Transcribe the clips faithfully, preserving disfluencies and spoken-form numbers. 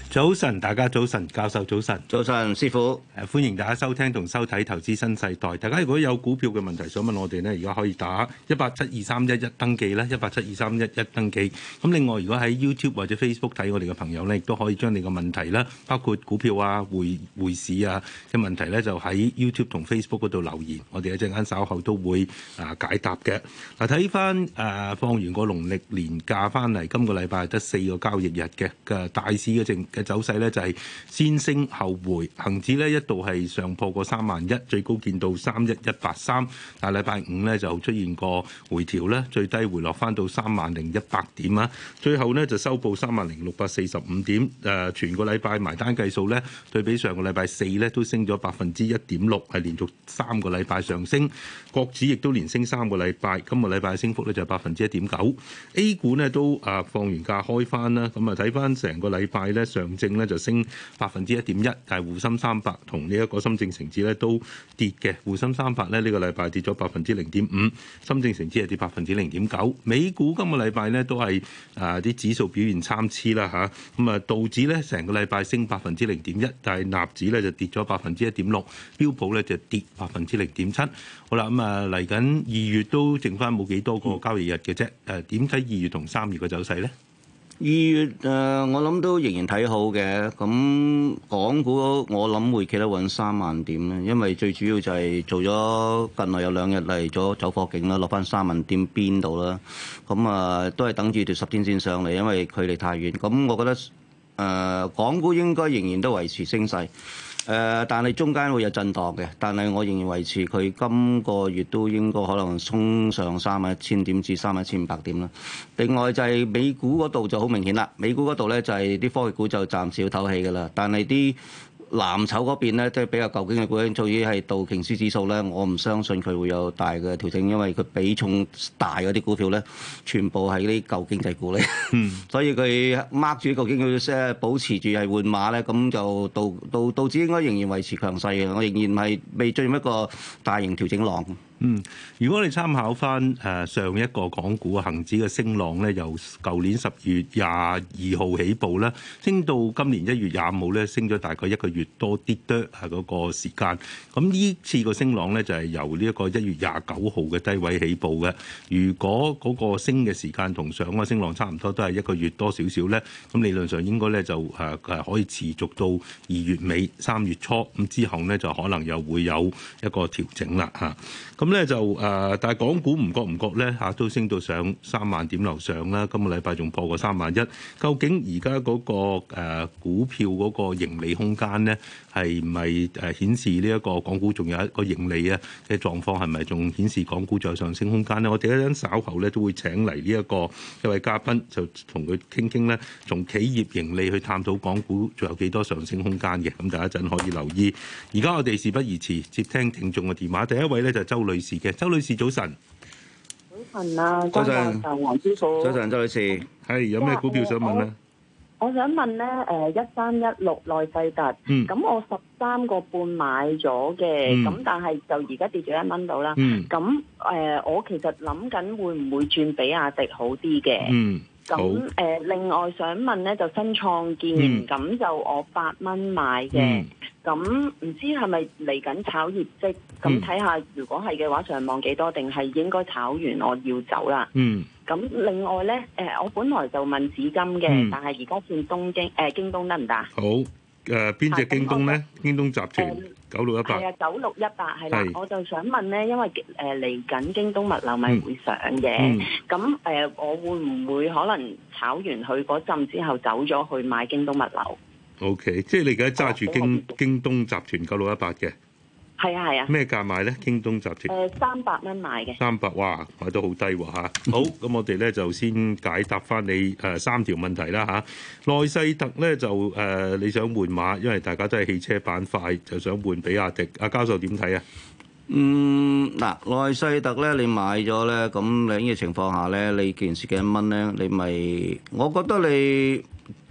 早晨，大家早晨，教授早晨， 早晨，師傅。 誒，歡迎大家收聽同收睇《投資新世代》。大家如果有股票嘅問題想問我哋呢，而家可以打一八七二三一一登記啦，一八七二三一一登記。咁另外，如果喺 YouTube 或者 Facebook 睇我哋嘅朋友呢，亦都可以將你嘅問題啦，包括股票啊、匯匯市啊嘅問題呢，就喺 YouTube 同 Facebook 嗰度留言，我哋一陣間稍後都會啊解答嘅。嗱，睇翻誒放完個農曆年假翻嚟，今個禮拜得四個交易日嘅嘅大市嘅正嘅走勢咧就係先升後回，恒指咧一度係上破過三萬一，最高見到三一一八三，但係禮拜五咧就出現個回調咧，最低回落翻到三萬零一百點啊，最後呢就收報三萬零六百四十五點，誒全個禮拜埋單計數咧，對比上個禮拜四咧都升咗百分之一點六，係連續三個禮拜上升，國指亦都連升三個禮拜，今個禮拜嘅升幅咧就係百分之一點九 ，A 股呢都啊放完假開翻啦，咁啊睇翻成個禮拜咧上證咧就升百分之一點一，但係滬深三百同呢一個深證成指咧都跌嘅。滬深三百咧呢個禮拜跌咗百分之零點五，深證成指係跌百分之零點九。美股今個禮拜咧都係啊啲指數表現參差啦嚇，咁啊道指咧成個禮拜升百分之零點一，但係納指咧就跌咗百分之一點六，標普咧就跌百分之零點七。好啦，咁啊嚟緊二月都剩翻冇幾多個交易日嘅啫，誒點睇二月同三月嘅走勢咧？ 二月誒、呃，我諗都仍然睇好嘅。咁港股我諗會企得穩三萬點咧，因為最主要就係做咗近來有兩日嚟咗走貨勁啦，落翻三萬點邊度啦。咁啊、呃，都係等住條十天線上嚟，因為距離太遠。咁我覺得誒、呃，港股應該仍然都維持升勢。誒、呃，但係中間會有震盪嘅，但係我仍然維持佢今個月都應該可能衝上三萬一千點至三萬一千五百點啦。另外就係美股嗰度就好明顯啦，美股嗰度咧就係啲科技股就暫時要唞氣㗎啦，但係啲藍籌嗰邊咧，即係比較舊經嘅股，至於係道瓊斯指數咧，我唔相信佢會有大嘅調整，因為佢比重大嗰啲股票咧，全部係啲舊經濟股咧，嗯、所以佢掹住舊經濟即係保持住係換馬咧，咁就道道道指應該仍然維持強勢嘅，我仍然係未進入一個大型調整浪。 嗯，如果你參考翻誒上一個港股恆指嘅升浪咧，由舊年十月廿二號起步咧，升到今年一月廿五號咧，升咗大概一個月多啲多係嗰個時間。咁呢次個升浪咧就係由呢一個一月廿九號嘅低位起步嘅。如果嗰個升嘅時間同上個升浪差唔多，都係一個月多少少咧，咁理論上應該咧就誒誒可以持續到二月尾三月初，咁之後咧就可能又會有一個調整啦嚇。咁咧就誒，但係港股唔覺唔覺咧嚇，都升到上三萬點樓上啦。今個禮拜仲破過三萬一。究竟而家嗰個誒股票嗰個盈利空間咧，係唔係誒顯示呢一個港股仲有一個盈利啊嘅狀況，係咪仲顯示港股仲有上升空間咧？我哋一陣稍後咧都會請嚟呢一個一位嘉賓，就同佢傾傾咧，從企業盈利去探討港股仲有幾多上升空間嘅。咁大家一陣可以留意。而家我哋事不宜遲，接聽聽眾嘅電話。第一位咧就係周女士嘅，周女士早晨。 早晨啊，早晨，黃師傅。 早晨，周女士， 係有咩股票想問咧？ 我想問咧，誒一三一六內世特，咁、嗯、我十三個半買咗嘅，咁、嗯、但係就而家跌咗一蚊到啦。咁誒、嗯呃，我其實諗緊會唔會轉比亞迪好啲嘅？嗯咁誒、呃，另外想問咧，就新創建，咁、嗯、就我八蚊買嘅，咁唔、嗯、知係咪嚟緊炒業績？咁睇下，如果係嘅話，上望幾多？定係應該炒完我要走啦？嗯。咁另外咧，誒、呃，我本來就問紫金嘅，嗯、但係而家轉東京誒、呃、京東得唔得？好，誒邊隻京東咧？京東集團九六一八。係啊， 九六一八係啦。我就想問咧，因為誒嚟緊京東物流咪會上嘅，咁誒、嗯呃、我會唔會可能炒完佢嗰陣之後走咗去買京東物流 ？O、okay, K， 即係你而家揸住京、哦、京東集團九六一八嘅。 係啊係啊， 咩價買咧？京東集團誒三百蚊買嘅， 三百哇，買到好低喎嚇。好，咁我哋咧就先解答翻你誒三條問題啦嚇。內世特咧就誒、呃、你想換馬，因為大家都係汽車板塊，就想換比亞迪。阿教授點睇啊？ 嗯，嗱，內世特咧，你買咗咧，咁你呢個情況下咧，你件事幾多蚊咧？你咪，我覺得你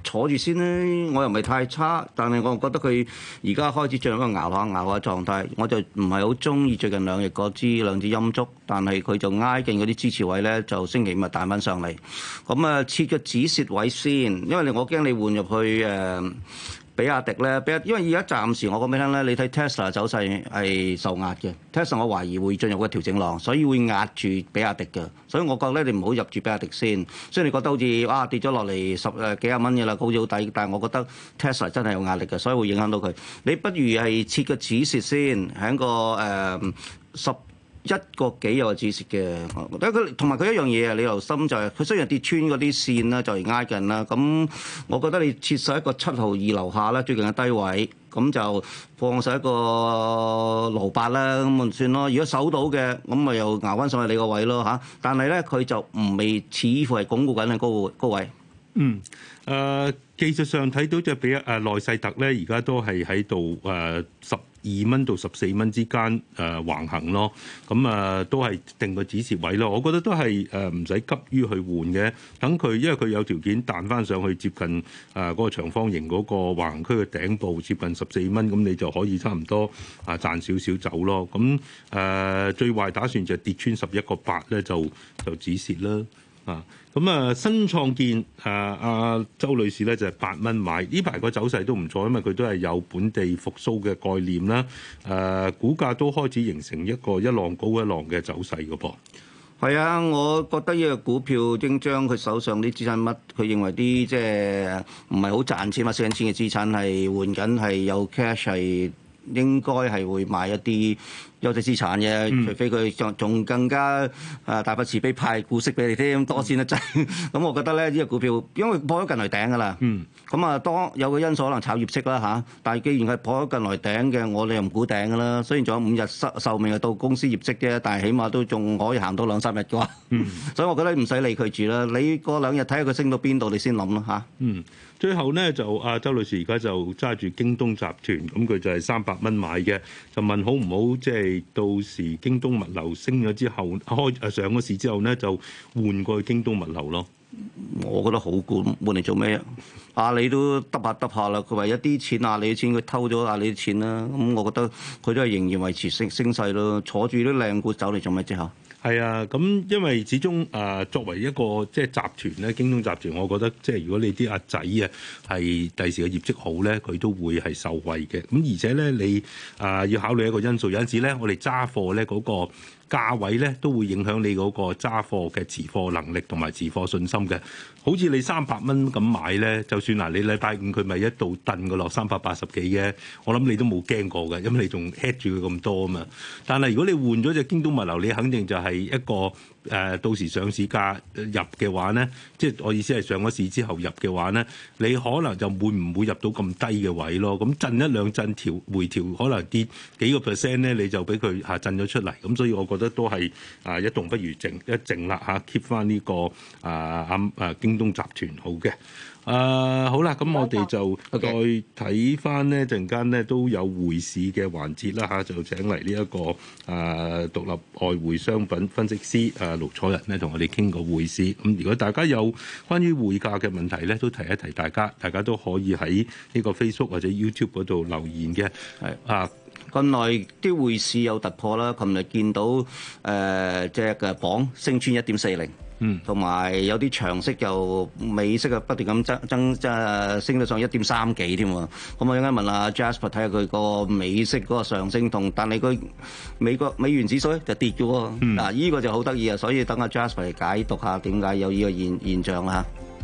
坐住先咧，我又唔係太差，但係我覺得佢而家開始進入一個熬下熬下狀態，我就唔係好中意最近兩日嗰支兩支陰燭，但係佢就挨近嗰啲支持位咧，就星期五咪彈翻上嚟，咁啊設個止蝕位先，因為我驚你換入去誒。呃比亞迪咧，比亞因為而家暫時我講俾你聽咧，你睇 Tesla 走勢係受壓嘅 Tesla 我懷疑會進入個調整浪，所以會壓住比亞迪嘅，所以我覺得你唔好入住比亞迪先。雖然你覺得好似哇跌咗落嚟十誒幾廿蚊嘅啦，好似好抵，但係我覺得 Tesla 真係有壓力嘅，所以會影響到佢。你不如係設個止蝕先，喺個誒十。呃一個幾有個止蝕嘅，但係佢同埋佢一樣嘢啊！你留心就係、是、佢雖然跌穿嗰啲線啦，就嚟挨近啦。咁我覺得你設實一個七毫二樓下啦，最近嘅低位，咁就放實一個盧八啦，咁咪算咯。如果守到嘅，咁咪又熬翻上去你個位咯嚇。但係咧，佢就唔未似乎係鞏固緊嘅高高位。 嗯，誒、呃、技術上睇到就比誒內勢特咧，而家都係喺度誒十二蚊到十四蚊之間誒、呃、橫行咯。咁啊、呃、都係定個止蝕位咯。我覺得都係誒唔使急於去換嘅，等佢因為佢有條件彈翻上去接近誒嗰、呃那個長方形嗰個橫行區嘅頂部接近十四蚊，咁你就可以差唔多啊賺少少走咯。咁誒、呃、最壞打算就係跌穿十一個八咧，就就止蝕啦。啊，咁啊，新創建啊，阿周女士咧就係八蚊買，呢排個走勢都唔錯，因為佢都係有本地復甦嘅概念啦。誒、啊，股價都開始形成一個一浪高一浪嘅走勢嘅噃。 係啊，我覺得呢個股票應將佢手上啲資產乜，佢認為啲即係唔係好賺錢或蝕緊錢嘅資產係換緊係有 cash 係應該係會買一啲優質資產嘅，嗯、除非佢仲仲更加啊大筆慈悲派股息俾你添，多先得滯。咁我覺得咧呢、呢個股票，因為破咗近來頂噶啦，咁啊當有個因素可能炒業績啦嚇，但係既然係破咗近來頂嘅，我哋又唔估頂噶啦。雖然仲有五日壽壽命係到公司業績啫，但係起碼都仲可以行多兩三日嘅話，嗯、所以我覺得唔使理佢住啦。你過兩日睇下佢升到邊度，你先諗啦嚇。 嗯，最後咧就阿周女士而家就揸住京東集團，咁佢就係三百蚊買嘅，就問好唔好即係。到時京東物流升咗之後，開誒上個市之後咧，就換過去京東物流咯。 我覺得好管換嚟做咩啊？阿里都揼下揼下啦，佢話一啲錢阿里嘅錢，佢偷咗阿里啲錢啦。咁我覺得佢都係仍然維持升升勢咯。坐住啲靚股走嚟做咩啫？嚇！ 係啊，咁因為始終誒、呃、作為一個即係集團咧，京東集團，我覺得即係如果你啲阿仔啊係第時嘅業績好咧，佢都會係受惠嘅。咁而且咧，你啊、呃、要考慮一個因素，有陣時咧，我哋揸貨咧嗰個價位咧都會影響你嗰個揸貨嘅持貨能力同埋持貨信心嘅。好似你三百蚊咁買咧，就算嗱你禮拜五佢咪一度燉個落三百八十幾嘅，我諗你都冇驚過嘅，因為你仲 hedge 住佢咁多啊嘛。但係如果你換咗隻京東物流，你肯定就係一個誒、呃、到時上市價入嘅話咧，即係我意思係上咗市之後入嘅話咧，你可能就會唔會入到咁低嘅位咯？咁震一兩震調回調，可能跌幾個 percent 咧，你就俾佢下震咗出嚟。咁所以我覺得都係啊一動不如靜，一靜啦嚇 keep 翻呢個啊啊啊京東集團好嘅。啊好啦，咁我哋就再睇翻呢陣間呢都有匯市嘅環節啦嚇，就請嚟呢一個啊獨立外匯商品分析師啊盧楚仁呢同我哋傾個匯市。咁如果大家有關於匯價嘅問題咧，都提一提大家，大家都可以喺呢個 Facebook 或者 YouTube 嗰度留言嘅。係啊。 近來啲匯市有突破啦，琴日見到誒隻嘅鎊升穿一點四零，嗯，同埋有啲長息又美息啊不斷咁增增即係升到上一點三幾添喎。咁我應該問下 Jasper 睇下佢個美息嗰個上升同，但係佢美國美元指數咧就跌咗喎。嗱、嗯，依個就好得意啊，所以等阿 Jasper 嚟解讀下點解有呢個現現象啦。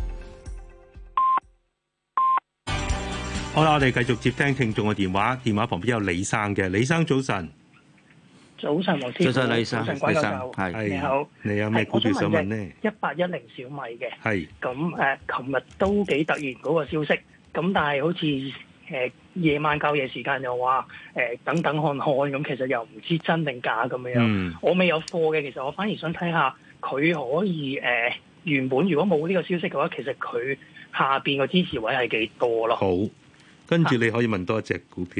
好啦，我哋繼續接聽聽眾嘅電話，電話旁邊有李生嘅，李生早晨。 早晨，黃師傅。 早晨，李生。 早晨，關教授。 係。 你好。 你有咩股票想問呢？ 一八一零小米嘅。 係。 咁誒，琴日都幾突然嗰個消息，咁但係好似誒夜晚交易時間又話誒等等看看，咁其實又唔知真定假咁樣。嗯。我未有貨嘅，其實我反而想睇下佢可以誒、呃、原本如果冇呢個消息嘅話，其實佢下邊個支持位係幾多咯？ 好。跟住你可以問多一隻股票，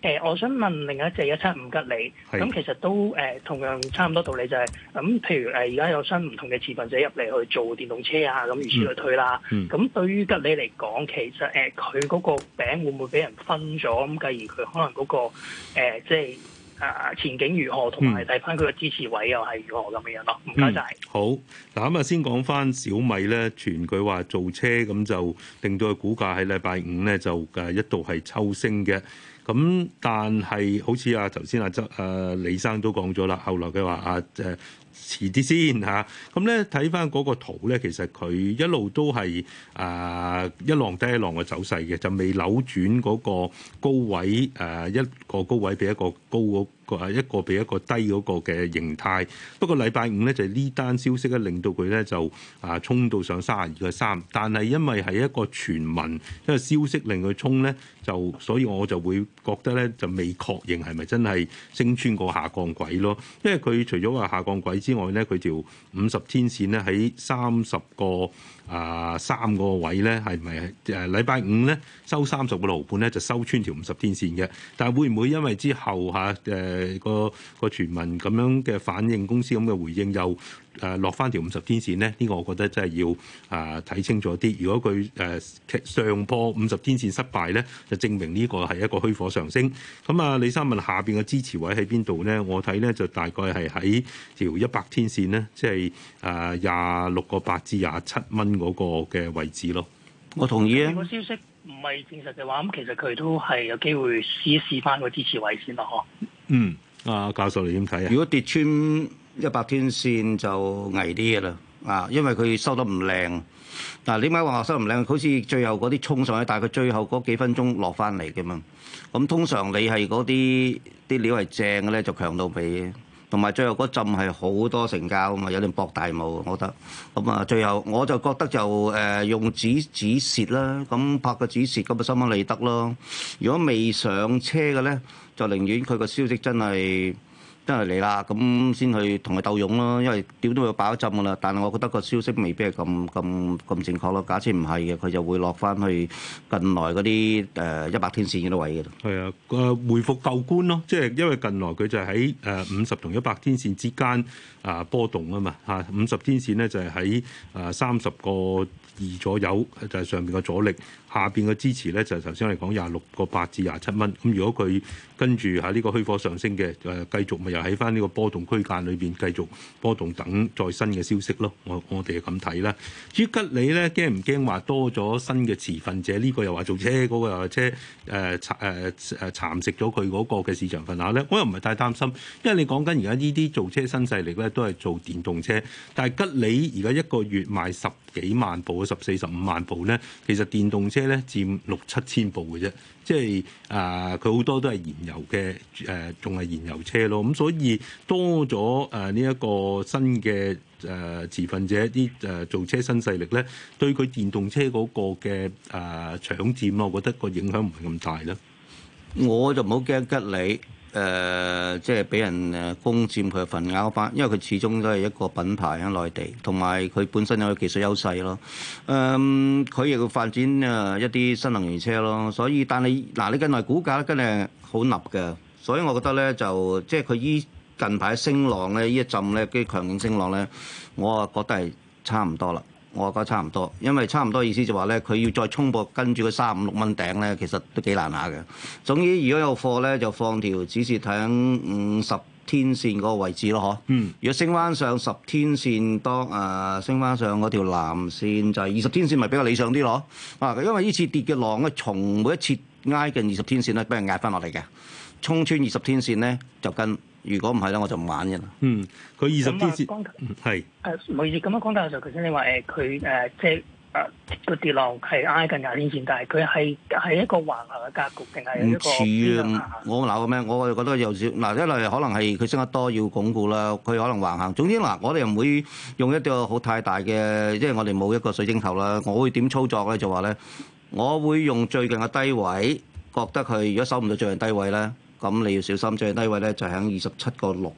誒、呃，我想問另一隻一七五吉利，咁其實都誒、呃、同樣差唔多道理、就是，就係咁。譬如誒，而、呃、家有新唔同嘅持份者入嚟去做電動車啊，咁如此類推啦。咁、嗯嗯、對於吉利嚟講，其實誒佢嗰個餅會唔會俾人分咗？咁繼而佢可能嗰、那個、呃、即係啊前景如何，同埋睇翻佢嘅支持位又係如何咁樣咯。唔該晒。好， 嗱咁啊，先講翻小米咧，傳佢話造車咁就令到佢股價喺禮拜五咧就誒一度係抽升嘅。咁但係好似啊頭先阿周誒李生都講咗啦，後來佢話啊誒遲啲先嚇，咁咧睇翻嗰個圖咧，其實佢一路都係啊一浪低一浪嘅走勢嘅，就未扭轉嗰個高位誒一個高位比一個高嗰個一個比一個低嗰個嘅形態。不過禮拜五咧就係呢單消息咧令到佢咧就啊衝到上三十二個三，但係因為係一個傳聞，一個消息令佢衝咧，就所以我就會覺得咧就未確認係咪真係升穿個下降軌咯。因為佢除咗話下降軌之外咧，佢條五十天線咧喺三十個啊三個位咧，係咪誒禮拜五咧收三十個毫半咧就收穿條五十天線嘅？但係會唔會因為之後嚇誒個個傳聞咁樣嘅反應，公司咁嘅回應又誒落翻條五十天線咧？呢個我覺得真係要啊睇清楚啲。如果佢誒上破五十天線失敗咧，就證明呢個係一個虛火上升。咁啊，李生問下邊嘅支持位喺邊度咧？我睇咧就大概係喺條一百天線咧，即係誒廿六個八至廿七蚊嗰個嘅位置咯。 我同意啊。 如果消息唔係證實嘅話，咁其實佢都係有機會試一試翻個支持位先咯，嗬。 嗯，阿教授你點睇啊？ 如果跌穿一百天線就危啲嘅啦，啊，因為佢收得唔靚。嗱，點解話收得唔靚？好似最後嗰啲衝上去，但係佢最後嗰幾分鐘落翻嚟嘅嘛。咁通常你係嗰啲啲料係正嘅咧，就強到尾。同埋最後嗰陣係好多成交啊嘛，有啲博大霧，我覺得。咁啊，最後我就覺得就誒、呃、用止止蝕啦，咁拍個止蝕咁啊，心安理得咯。如果未上車嘅咧，就寧願佢個消息真係真係嚟啦，咁先去同佢鬥勇咯。因為點都會爆一陣噶啦，但係我覺得個消息未必係咁咁咁正確咯。假設唔係嘅，佢就會落翻去近來嗰啲誒一百天線嗰啲位嘅。 係啊，誒回復舊觀咯，即係因為近來佢就喺誒五十同一百天線之間啊波動啊嘛嚇，五十天線咧就係喺誒三十個二左右，就係上邊嘅阻力，下邊嘅支持咧就係頭先我哋講廿六個八至廿七蚊。咁如果佢跟住喺呢個虛火上升嘅誒，繼續咪又喺翻呢個波動區間裏邊繼續波動，等再新嘅消息咯。我我哋係咁睇啦。至於吉利咧，驚唔驚話多咗新嘅持份者？呢、這個又話做車，嗰、那個又話車誒誒誒蠶食咗佢嗰個嘅市場份額咧。我又唔係太擔心，因為你講緊而家呢啲做車新勢力咧，都係做電動車。但係吉利而家一個月賣十幾萬部、十四十五萬部咧，其實電動車咧佔六七千部嘅啫。即係啊，佢、呃、好多都係燃油嘅誒，仲、呃、係燃油車咯。咁所以多咗誒呢一個新嘅誒、呃、持份者啲誒造車新勢力咧，對佢電動車嗰個嘅誒、呃、搶佔咯，我覺得個影響唔係咁大啦。 我就唔好驚吉利。誒、呃，即係俾人誒攻佔佢嘅份額翻，因為佢始終都係一個品牌喺內地，同埋佢本身有技術優勢咯。誒、呃，佢亦會發展誒一啲新能源車咯。所以，但係嗱，你近來股價真係好立嘅，所以我覺得咧就即係佢依近排升浪咧，呢一陣咧啲強勁升浪咧，我啊覺得係差唔多啦。我覺得差唔多，因為差唔多意思就話咧，佢要再衝破跟住個三五六蚊頂咧，其實都幾難下嘅。總之，如果有貨咧，就放條指示睇五十天線嗰個位置咯，嗬。嗯。如果升翻上十天線當誒、呃、升翻上嗰條藍線，就係二十天線，咪比較理想啲咯。啊，因為呢次跌嘅浪咧，從每一次挨近二十天線咧，俾人壓翻落嚟嘅，衝穿二十天線咧就跟。如果唔係咧，我就唔玩嘅啦。嗯，佢二十天線係誒，唔好意思，咁樣講大嘅時候，頭先你話誒佢誒即係誒個跌浪係挨近廿天線，但係佢係係一個橫行嘅格局定係一個唔似啊！我鬧嘅咩？我就覺得有少嗱，一嚟可能係佢升得多要鞏固啦，佢可能橫行。總之嗱，我哋又唔會用一個好太大嘅，即係我哋冇一個水晶頭啦。我會點操作咧？就話咧，我會用最近嘅低位，覺得佢如果守唔到最近低位咧。咁你要小心，最低位咧就喺二十七個六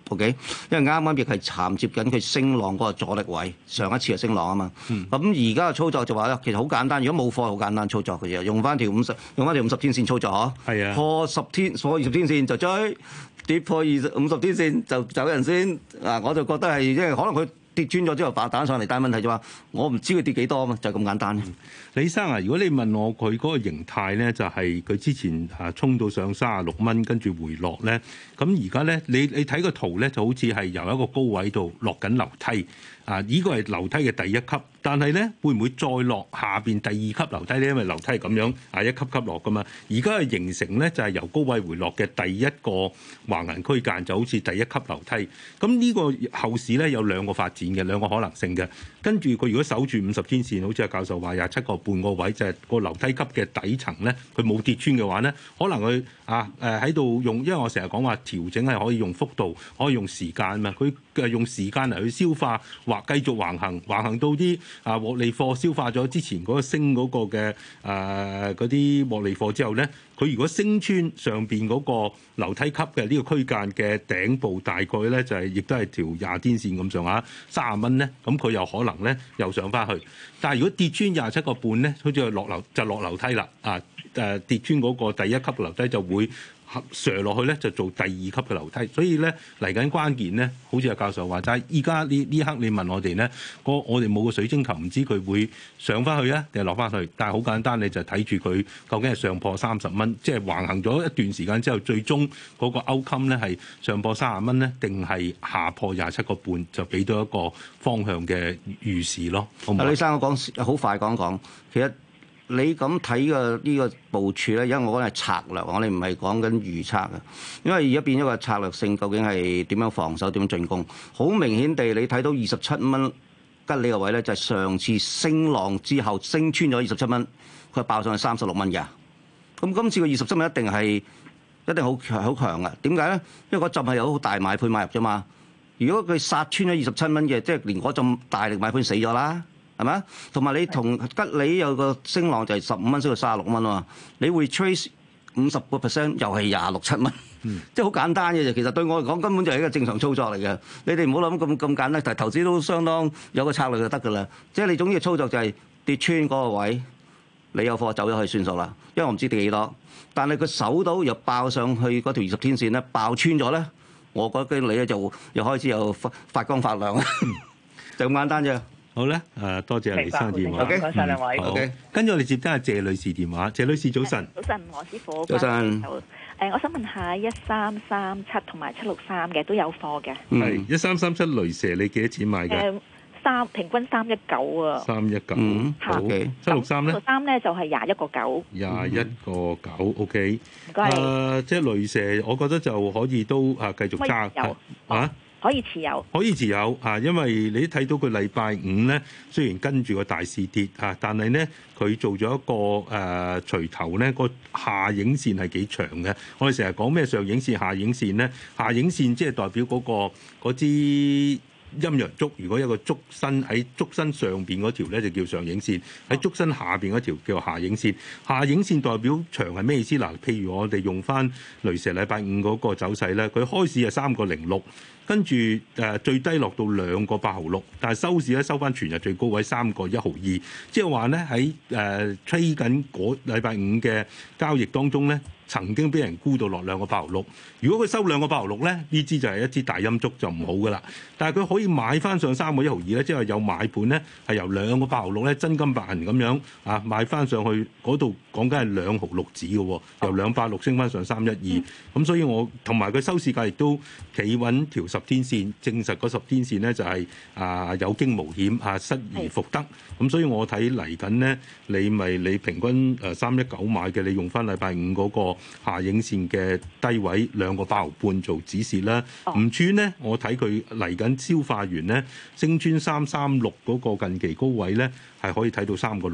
OK，因為啱啱亦係銜接緊佢升浪嗰個阻力位，上一次係升浪啊嘛。咁而家嘅操作就話咧，其實好簡單，如果冇貨好簡單操作嘅啫，用翻條五十，用翻條五十天線操作嗬。係啊，破十天，破二十天線就追，跌破二十五十天線就走人先。啊，我就覺得係，因為可能佢跌穿咗之後反彈上嚟，但係問題就話我唔知佢跌幾多啊嘛，就係咁簡單。 嗯、李生啊，如果你問我佢嗰個形態咧，就係、是、佢之前啊衝到上三十六蚊，跟住回落咧，咁而家咧你你睇個圖咧，就好似係由一個高位度落緊樓梯啊！呢個係樓梯嘅第一級。但係咧，會唔會再落下邊第二級樓梯咧？因為樓梯係咁樣啊，一級級落噶嘛。而家係形成咧，就係由高位回落嘅第一個橫行區間，就好似第一級樓梯。咁呢個後市咧有兩個發展嘅，兩個可能性嘅。跟住佢如果守住五十天線，好似阿教授話廿七個半個位，就係個樓梯級嘅底層咧，佢冇跌穿嘅話咧，可能佢啊誒喺度用，因為我成日講話調整係可以用幅度，可以用時間啊嘛。佢嘅用時間嚟去消化，或繼續橫行，橫行到啲啊獲利貨消化咗之前嗰個升嗰個嘅誒嗰啲獲利貨之後咧，佢如果升穿上邊嗰個樓梯級嘅呢個區間嘅頂部，大概咧就係、是、亦都係條廿天線咁上下三十蚊咧，咁佢又可能咧又上翻去。但係如果跌穿廿七個半咧，好似落樓就落樓梯啦啊誒跌穿嗰個第一級樓梯就會瀡落去咧，就做第二級嘅樓梯。所以咧嚟緊關鍵咧，好似阿教授話齋，依家呢呢刻你問我哋咧，我我哋冇個水晶球，唔知佢會上翻去啊定係落翻去。但係好簡單，你就睇住佢究竟係上破三十蚊，即係橫行咗一段時間之後，最終嗰個 outcome 咧係上破三十蚊咧，定係下破廿七個半，就俾到一個方向嘅預示咯。好唔好？ 李生，我講好快講講，其實。你咁睇嘅呢個部署咧，因為我講係策略，我哋唔係講緊預測嘅。因為而家變咗個策略性，究竟係點樣防守、點樣進攻？好明顯地，你睇到二十七蚊吉呢個位咧，就係上次升浪之後升穿咗二十七蚊，佢爆上去三十六蚊嘅。咁今次個二十七蚊一定係一定好強好強嘅。點解咧？因為嗰陣係有好大買盤買入啫嘛。如果佢殺穿咗二十七蚊嘅，即係連嗰陣大力買盤死咗啦。係咪？同埋你同吉利有個升浪就係十五蚊升到三十六蚊啊嘛，你會 trace 五十個 percent 又係廿六七蚊，嗯、即係好簡單嘅啫。其實對我嚟講根本就係一個正常操作嚟嘅。你哋唔好諗咁咁簡單，但係投資都相當有個策略就得㗎啦。即係你總之嘅操作就係跌穿嗰個位，你有貨走咗去算數啦。因為我唔知跌幾多，但係佢守到又爆上去嗰條二十天線咧，爆穿咗咧，我覺得你咧就又開始有發發光發亮，就咁簡單啫。 好咧，誒多謝李生電話。 唔該曬兩位。 好，跟住我哋接聽下謝女士電話。謝女士早晨。 早晨，黃師傅。 早晨。 誒，我想問下一三三七同埋七六三嘅都有貨嘅。 係一三三七雷蛇，你幾多錢買嘅？ 誒三平均三一九啊。 三一九。好。七六三咧？七六三咧就係廿一個九。 廿一個九，OK。 唔該。 誒，即係雷蛇，我覺得就可以都啊繼續揸嚇。 可以持有， 可以持有啊！因為你睇到佢禮拜五咧，雖然跟住個大市跌啊，但係咧佢做咗一個誒錘頭咧，個下影線係幾長嘅。我哋成日講咩上影線、下影線咧，下影線即係代表嗰個嗰支陰陽燭。如果有個燭身喺燭身上邊嗰條咧，就叫上影線；喺燭身下邊嗰條叫下影線。下影線代表長係咩意思？嗱，譬如我哋用翻雷蛇禮拜五嗰個走勢咧，佢開市係三個零六。跟住誒最低落到兩個八毫六，但係收市咧收翻全日最高位三個一毫二，即係話咧喺誒吹緊嗰禮拜五嘅交易當中咧，曾經俾人沽到落兩個八毫六。如果佢收兩個八毫六咧，呢支就係一支大陰燭就唔好噶啦。但係佢可以買翻上三個一毫二咧，即係有買盤咧係由兩個八毫六咧真金白銀咁樣啊買翻上去嗰度，講緊係兩毫六子嘅喎，由兩百六升翻上三一二。咁所以我同埋佢收市價亦都企穩條十天線，證實嗰十天線咧就係、是、啊有驚無險啊失而復得。咁所以我睇嚟緊咧，你咪你平均誒三一九買嘅，你用翻禮拜五嗰個下影線嘅低位兩個八毫半做指示啦。唔穿咧，我睇佢嚟緊消化完咧，升穿三三六嗰個近期高位咧，係可以睇到三個六嘅。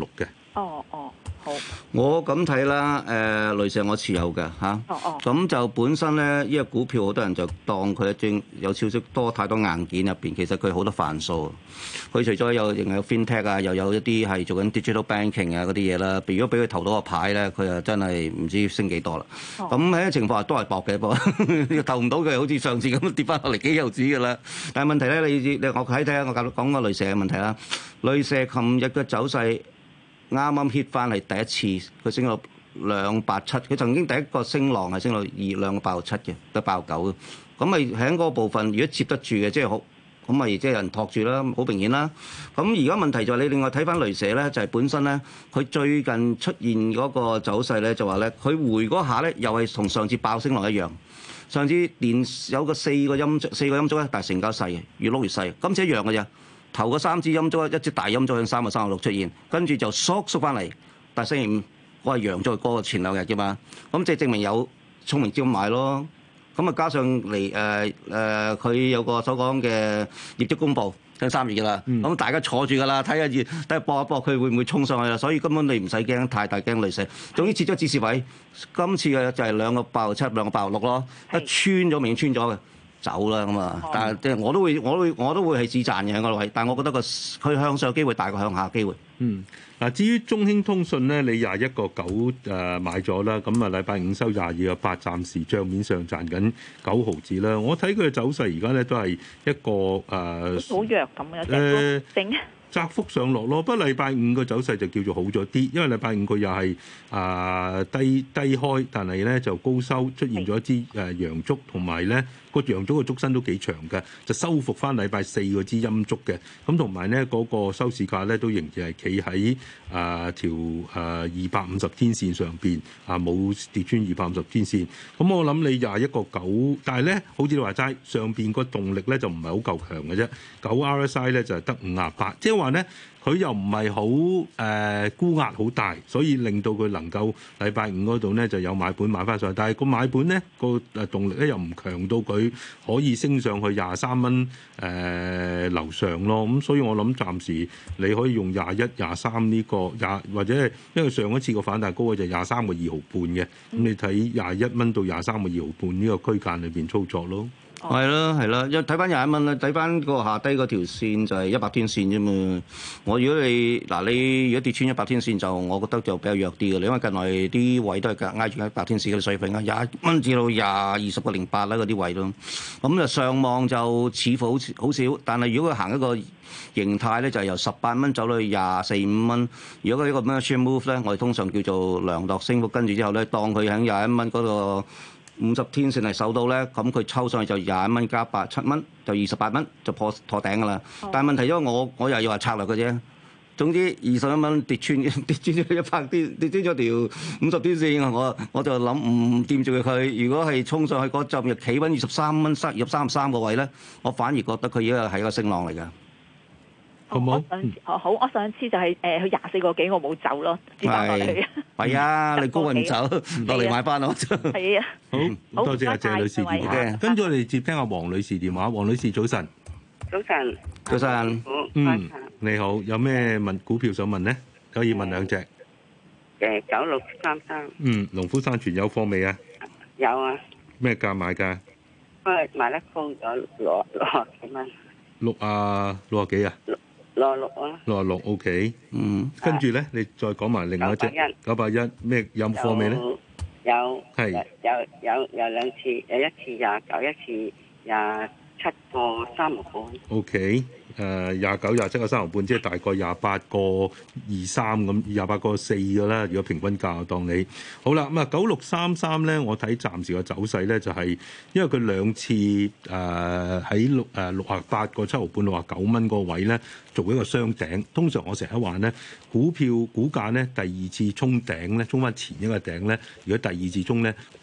哦哦，好。 我咁睇啦，誒、呃，雷蛇我持有嘅嚇。 哦哦。 咁就本身咧，呢、這個股票好多人就當佢正有少少多太多硬件入邊，其實佢好多範數。佢除咗有，仍有 FinTech 啊，又有一啲係做緊 digital banking 啊嗰啲嘢啦。如果俾佢投到個牌咧，佢就真係唔知升幾多啦。咁喺啲情況下都係搏嘅，不過投唔到佢，好似上次咁跌翻落嚟幾毫子㗎啦。但係問題咧，你你我睇睇下，我講個雷蛇嘅問題啦。雷蛇琴日嘅走勢啱啱 hit 翻係第一次，佢升到兩百七，佢曾經第一個升浪係升到二兩個八毫七嘅，得八毫九。咁咪喺嗰個部分，如果接得住嘅，即係好。咁咪即係有人托住啦，好明顯啦。咁而家問題就係你另外睇翻雷蛇咧，就係、是、本身咧，佢最近出現嗰個走勢咧，就話咧，佢回嗰下咧，又係同上次爆升浪一樣。上次連有個四個陰四個陰燭咧，但係成交細嘅，越碌越細。今次一樣嘅啫，頭嗰三支陰燭，一支大陰燭向三個三個六出現，跟住就縮縮翻嚟。但係星期五我係陽咗嗰個前兩日嘅嘛，咁即係證明有聰明資金買咯。咁啊，加上嚟誒誒，佢、呃呃、有個所講嘅業績公佈，喺三月嘅啦。咁、嗯、大家坐住㗎啦，睇下熱，睇下搏一搏，佢會唔會衝上去啦？所以根本你唔使驚太大驚雷蛇。總之設咗指示位，今次嘅就係兩個八毫七，兩個八毫六咯。一穿咗，明穿咗嘅，走啦咁啊！嗯、但係即係我都會，我都會，我都會係止賺嘅喺嗰度位。但係我覺得個佢向上機會大過向下機會。 嗯。嗱，至於中興通訊咧，你廿一個九誒買咗啦，咁啊禮拜五收廿二個八，暫時帳面上賺緊九毫子啦。我睇佢嘅走勢而家咧都係一個誒，好、呃、 弱咁樣誒，整窄幅上落咯。不過禮拜五個走勢就叫做好咗啲，因為禮拜五佢又係啊低低開，但係咧就高收，出現咗一支誒陽燭，同埋咧個陽燭個燭身都幾長嘅，就收復翻禮拜四嗰支陰燭嘅。咁同埋咧嗰個收市價咧都仍然係企喺啊條誒二百五十天線上邊啊，冇跌穿二百五十天線。咁我諗你廿一個九，但係咧好似你話齋，上邊個動力咧就唔係好夠強嘅啫。九 R S I 咧就係得五廿八，即係話咧佢又唔係好誒沽壓好大，所以令到佢能夠禮拜五嗰度咧就有買盤買翻上去。但係個買盤咧個誒動力咧又唔強到佢可以升上去廿三蚊誒樓上咯。咁所以我諗暫時你可以用廿一、廿三呢個廿，或者係因為上一次個反彈高位就廿三個二毫半嘅，咁你睇廿一蚊到廿三個二毫半呢個區間裏邊操作咯。 係咯，係啦，一睇翻廿一蚊啦，睇翻個下低嗰條線就係一百天線啫嘛。我如果你嗱你如果跌穿一百天線就，我覺得就比較弱啲嘅。因為近來啲位都係挨住一百天線嘅水平啊，廿一蚊至到廿二十個零八啦嗰啲位咯。咁就上望就似乎好好少，但係如果佢行一個形態咧，就係由十八蚊走到去廿四五蚊。如果佢呢個 merchant move 咧，我哋通常叫做量度升幅，跟住之後咧，當佢喺廿一蚊嗰個五十天線係守到咧，咁佢抽上去就廿一蚊加八七蚊，就二十八蚊就破破頂噶啦。哦、但係問題因為我我又要話策略嘅啫。總之二十一蚊跌穿跌穿咗一百天，跌穿咗條五十天線，我我就諗唔掂住佢。如果係衝上去嗰陣又企穩二十三蚊塞入三十三個位咧，我反而覺得佢依個係一個升浪嚟㗎。 好唔好？ 我上次哦好，我上次就係誒佢廿四個幾，我冇走咯，接翻落嚟。 係啊，你高位唔走，落嚟買翻咯。 係啊， 好，多謝阿謝女士電話。跟住我哋接聽阿黃女士電話。黃女士早晨。 早晨。 早晨。 嗯，你好，有咩問股票想問咧？可以問兩隻。 誒，九六三三。 嗯，農夫山泉有貨未啊？ 有啊。 咩價買㗎？ 不過買得高咗六六十幾蚊。 六啊，六啊幾啊？ 六六啊， 六啊六 OK，嗯，跟住咧，你再講埋另外一隻九百一咩有貨未咧？ 有， 係有有有兩次，有一次廿九，一次廿七個三毫半。OK， 誒廿九廿七個三毫半，即係大概廿八個二三咁，廿八個四㗎啦。如果平均價當你好啦，咁啊九六三三咧，我睇暫時個走勢咧就係因為佢兩次誒喺六誒六啊八個七毫半六啊九蚊個位咧做一個雙頂。通常我成日話咧，股票股價咧第二次衝頂咧，衝翻前一個頂咧，如果第二次衝咧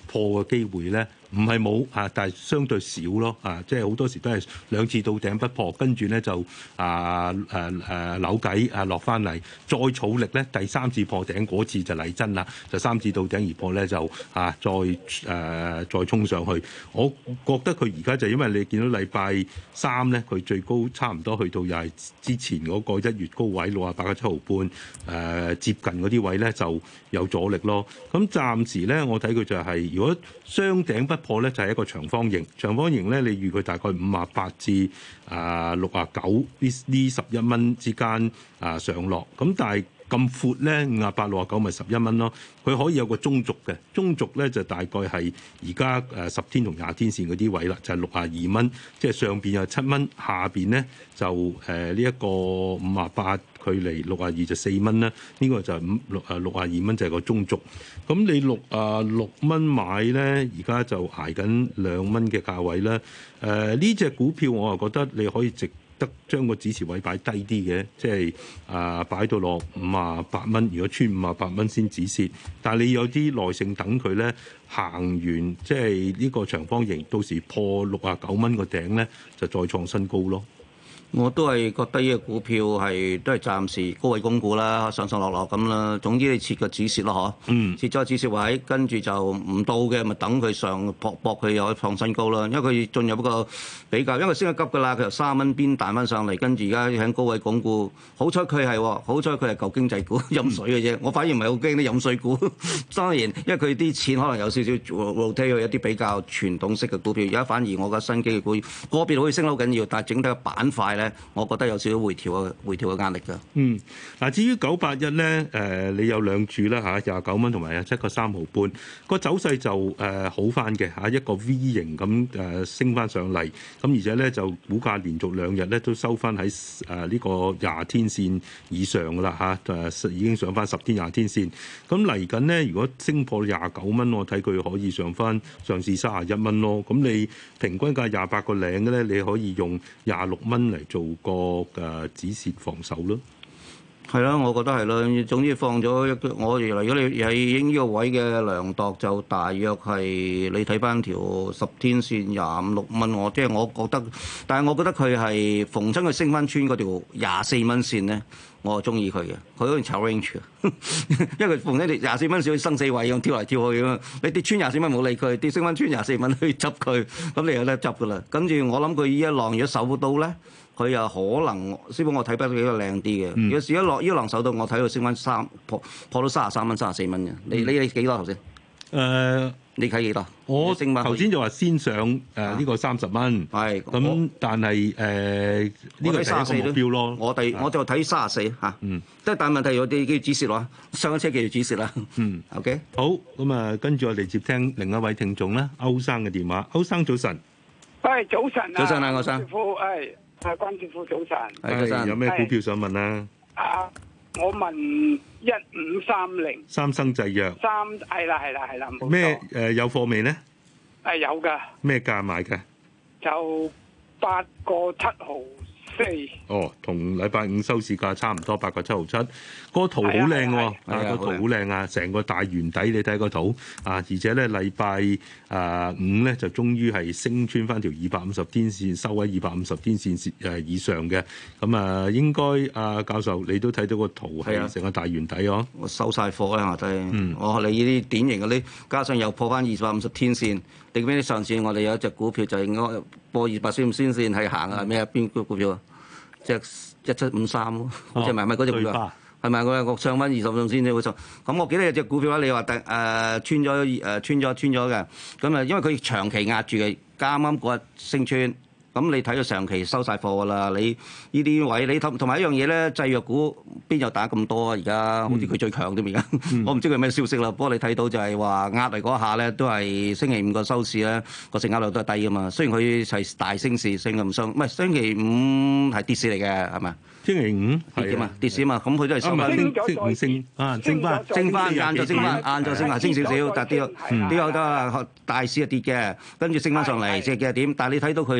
破嘅機會咧，唔係冇啊，但係相對少咯啊，即係好多時都係兩次到頂不破，跟住咧就啊誒誒、啊、扭計啊落翻嚟，再儲力咧，第三次破頂嗰次就嚟真啦，就三次到頂而破咧就啊再誒、啊、再衝上去。我覺得佢而家就因為你見到禮拜三咧，佢最高差唔多去到又係之前嗰個一月高位六啊八個七毫半誒、呃、接近嗰啲位咧就有阻力咯。咁暫時咧，我睇佢就係、是、如果雙頂不破咧，就係、是、一個長方形。長方形咧，你預佢大概五啊八至啊六啊九呢呢十一蚊之間啊上落。咁但係咁闊咧，五啊八六啊九咪十一蚊咯。佢可以有個中軸嘅，中軸咧就大概係而家誒十天同廿天線嗰啲位啦，就係六啊二蚊。即係上邊有七蚊，下邊咧就誒呢一個五啊八距離六啊二就四蚊啦。呢、這個就係五六啊六啊二蚊就係個中軸。咁你六啊六蚊買咧，而家就捱緊兩蚊嘅價位啦。誒呢隻股票我又覺得你可以值得將個止蝕位擺低啲嘅，即係啊擺到落五啊八蚊，如果穿五啊八蚊先止蝕。但係你有啲耐性等佢咧行完，即係呢個長方形，到時破六啊九蚊個頂咧，就再創新高咯。 我都係覺得呢個股票係都係暫時高位供股啦，上上落落咁啦。總之你設個止蝕咯，嗬。嗯。設咗止蝕位，跟住就唔到嘅，咪等佢上搏搏佢又創新高啦。因為佢進入一個比較，因為升得急㗎啦，佢由三蚊邊彈翻上嚟，跟住而家喺高位供股。好彩佢係，好彩佢係舊經濟股飲水嘅啫。我反而唔係好驚啲飲水股。當然，因為佢啲錢可能有少少 rotate 去一啲比較傳統式嘅股票。而家反而我覺得新機嘅股個別可以升得好緊要，但係整體嘅板塊咧，我覺得有少少回調嘅回調嘅壓力㗎。 嗯，嗱，至於九八一咧，誒，你有兩注啦嚇，廿九蚊同埋有七個三毫半，個走勢就誒好翻嘅嚇，一個 V 型咁誒升翻上嚟，咁而且咧就股價連續兩日咧都收翻喺誒呢個廿天線以上㗎啦嚇，誒已經上翻十天廿天線。咁嚟緊咧，如果升破廿九蚊，我睇佢可以上翻上試三十一蚊咯。咁你平均價廿八個零嘅咧，你可以用廿六蚊嚟做個誒止蝕防守咯。 係啦，我覺得係啦。總之放咗一個，我如果你係影呢個位嘅量度，就大約係你睇翻條十天線廿五六蚊。我即係我覺得，但係我覺得佢係逢親佢升翻穿嗰條廿四蚊線咧，我係中意佢嘅。佢好似炒 range 嘅，因為佢逢親條廿四蚊線生死位咁跳嚟跳去咁。你跌穿廿四蚊冇理佢，跌升翻穿廿四蚊去執佢，咁你有得執噶啦。跟住我諗佢呢一浪如果守到咧，佢又可能，師傅我睇翻佢比較靚啲嘅。嗯、如果試一落呢一浪手到，我睇佢升翻三破破到三十三蚊、三十四蚊嘅。你你你幾多頭先？誒、呃，你睇幾多？ 我頭先就話先上誒呢、呃這個三十蚊。係咁、啊，但係誒呢個係一個目標咯。 我第我就睇三十四嚇。嗯。即係但係問題有啲叫止蝕咯，上一車叫做止蝕啦。嗯。OK。 好，咁啊，跟住我哋接聽另一位聽眾啦，歐生嘅電話。歐生早晨。 喂，早晨啊。 早晨啊，歐生。 師傅，係。啊，關師傅早晨， 係有咩股票想問啊？ 啊，我問一五三零三生製藥， 三係啦係啦係啦， 咩誒有貨未咧？ 係有㗎。咩價買嘅？ 就八個七毫四。 哦，同禮拜五收市價差唔多，八個七毫七。個圖好靚喎，啊個圖好靚啊，成個大圓底，你睇個圖啊，而且咧禮拜啊五咧就終於係升穿翻條二百五十天線，收喺二百五十天線誒以上嘅。咁啊，應該啊教授你都睇到個圖係成個大圓底哦。 我收晒貨啦，我睇。嗯。我你呢啲典型嗰啲，加上又破翻二百五十天線。你記唔記得上次我哋有一隻股票就應該破二百先先線係行啊？咩啊？邊個股票啊？即係一七五三咯，好似係咪咪嗰隻股票？係咪我我上翻二十鐘先至會上？咁我記得有隻股票咧，你話第誒穿咗誒穿咗穿咗嘅，咁啊因為佢長期壓住嘅，啱啱嗰日升穿。咁你睇到長期收晒貨㗎啦，你呢啲位你同同埋一樣嘢咧，製藥股邊有打咁多啊？而家好似佢最強添而家，嗯、我唔知佢咩消息啦。不過你睇到就係話壓嚟嗰下咧，都係星期五個收市咧個成交量都係低㗎嘛。雖然佢係大升市升咁升，唔係星期五係跌市嚟嘅係咪？星期五跌嘅嘛，跌市啊嘛，咁佢都係收翻升升升啊，升翻升翻晏晝升翻晏晝升下升少少，但係啲啲有得大市係跌嘅，跟住升翻上嚟，即係幾點？但係你睇到佢係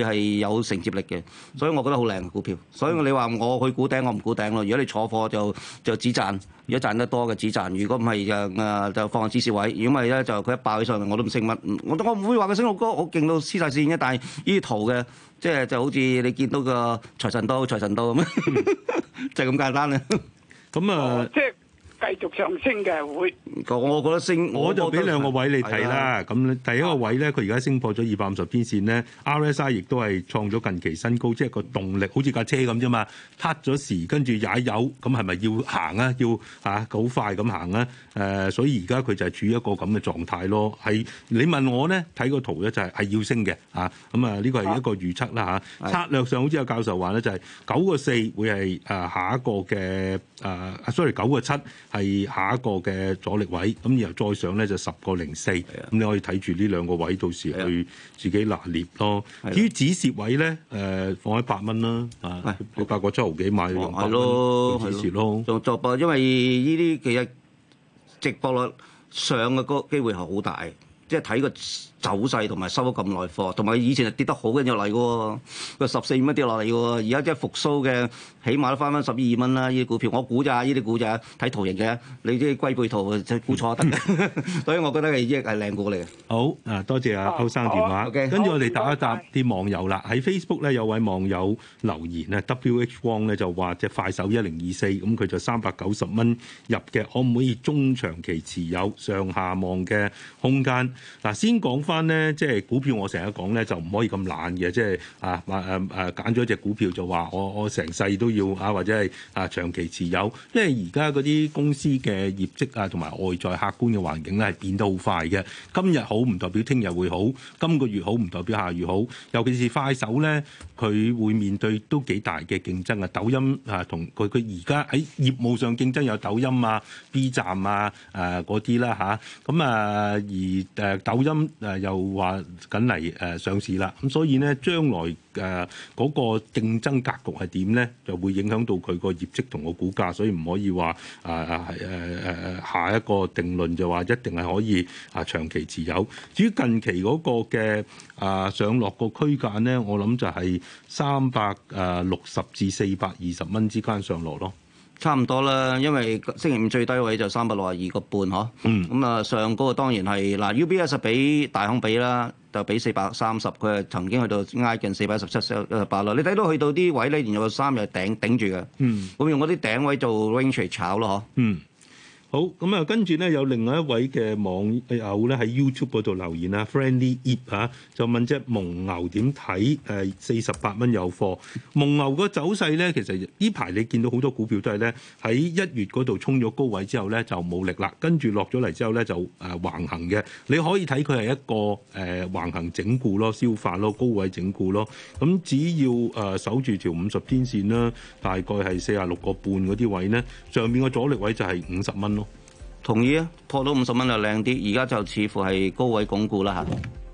有承接力嘅，所以我覺得好靚嘅股票。所以你話我去估頂，我唔估頂咯。如果你坐貨就就止賺，如果賺得多嘅止賺，如果唔係就誒就放喺止蝕位。如果唔係咧，就佢一爆起上嚟，我都唔識乜。我我唔會話佢升到高，好勁到黐晒線嘅。但係呢啲圖嘅，即係就好似你見到個財神刀、財神刀咁，就係咁簡單啦。 咁啊，即係。 繼續上升嘅會， 我覺得升， 我就俾兩個位你睇啦。咁第一個位咧，佢而家升破咗二百五十天線咧 ，R S I 亦都係創咗近期新高，即係個動力好似架車咁啫嘛，撻咗時跟住踩油，咁係咪要行啊？要嚇好快咁行啊？誒、呃，所以而家佢就係處於一個咁嘅狀態咯。係你問我咧，睇個圖咧就係係要升嘅嚇。咁啊，呢個係一個預測啦嚇。策略上好似有教授話咧，就係九個四會係誒下一個嘅誒，sorry 九個七。係下一個嘅阻力位，咁然後再上咧就十個零四，咁你可以睇住呢兩個位，到時去自己拿捏咯。至於止蝕位咧，誒、呃、放喺八蚊啦，啊，你八個七毫幾買用八蚊止蝕咯。 做做博，因為呢啲其實直播率上嘅個機會係好大。即係睇個走勢同埋收咗咁耐貨，同埋以前係跌得好緊要嚟嘅喎，個十四蚊跌落嚟嘅喎，而家即係復甦嘅，起碼都翻翻十二蚊啦！呢啲股票我估咋，呢啲估咋，睇圖形嘅，你啲龜背圖就估錯得嘅，所以我覺得係益係靚股嚟嘅。 好啊，多謝阿歐生電話， 哦、okay, 跟住我哋答一答啲網友啦。喺 Facebook 咧有位網友留言啊 ，W H Wong 咧就話隻快手一零二四，咁佢就三百九十蚊入嘅，可唔可以中長期持有上下望嘅空間？嗱，先講翻咧，即係股票，我成日講咧，就唔可以咁懶嘅，即係啊，誒誒誒，揀咗隻股票就話我我成世都要啊，或者係啊長期持有，因為而家嗰啲公司嘅業績啊，同埋外在客觀嘅環境咧係變得好快嘅。今日好唔代表聽日會好，今個月好唔代表下月好。尤其是快手咧，佢會面對都幾大嘅競爭啊。抖音啊，同佢佢而家喺業務上競爭有抖音啊、B 站啊、誒嗰啲啦嚇。咁啊，啊而誒、啊、抖音誒又話緊嚟誒上市啦。咁所以咧，將來誒嗰、嗰個競爭格局係點咧，就會影響到佢個業績同個股價。所以唔可以話誒誒誒誒下一個定論就話一定係可以啊長期持有。至於近期嗰個嘅啊上落個區間咧，我諗就係三百誒六十至四百二十蚊之間上落咯。 差唔多啦，因為星期五最低位就三百六十二個半嗬。嗯。咁啊，上嗰個當然係嗱 U B S 比大行比啦，就比四百三十，佢係曾經去到挨近四百一十七、一十八啦。你睇到去到啲位咧，連有三日頂頂住嘅。嗯。咁用嗰啲頂位做 range 嚟炒咯，嗬。嗯。 好，咁啊，跟住咧有另外一位嘅網友咧喺 YouTube 嗰度留言啊 ，Friendly Ip 嚇就問隻蒙牛點睇？誒四十八蚊有貨。蒙牛個走勢咧，其實呢排你見到好多股票都係咧喺一月嗰度衝咗高位之後咧就冇力啦，跟住落咗嚟之後咧就誒橫行嘅。你可以睇佢係一個誒、呃、橫行整固咯、消化咯、高位整固咯。咁只要誒、呃、守住條五十天線啦，大概係四十六個半嗰啲位咧，上面個阻力位就係五十蚊。 同意啊，破到五十蚊就靚啲，而家就似乎係高位鞏固啦嚇。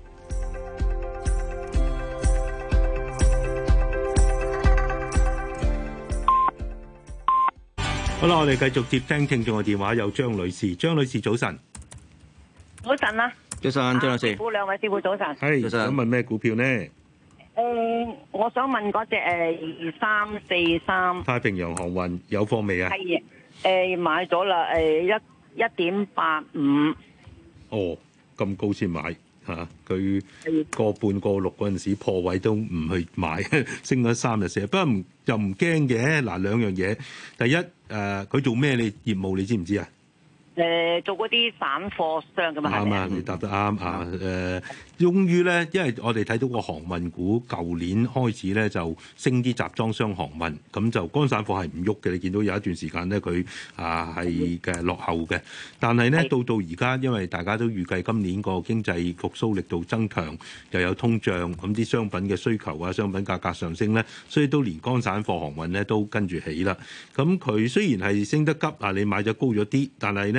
好啦，我哋繼續接聽聽眾嘅電話，有張女士，張女士早晨。 早晨啊， 早晨，張女士。 師傅兩位師傅早晨。 係，早晨。想問咩股票呢？ 誒、呃，我想問嗰隻誒二三四三太平洋航運有貨未啊？ 係誒、呃、買咗啦，誒、呃、一。一點八五哦，咁高先買嚇，佢、啊、個半個六嗰陣時破位都唔去買，升咗三日四日，不過唔又唔驚嘅。嗱，兩樣嘢，第一誒，佢、呃、做咩你業務你知唔知啊？ 誒、呃，做嗰啲散貨商㗎嘛，係咪啊？ 你答得啱啊！誒、呃，終於咧，因為我哋睇到個航運股舊年開始咧就升啲集裝箱航運，咁就乾散貨係唔喐嘅。你見到有一段時間咧，佢啊係嘅落後嘅。但係咧，到到而家，因為大家都預計今年個經濟復甦力度增強，又有通脹，咁啲商品嘅需求啊、商品價格上升咧，所以都連乾散貨航運咧都跟住起啦。咁佢雖然係升得急啊，你買咗高咗啲，但係咧。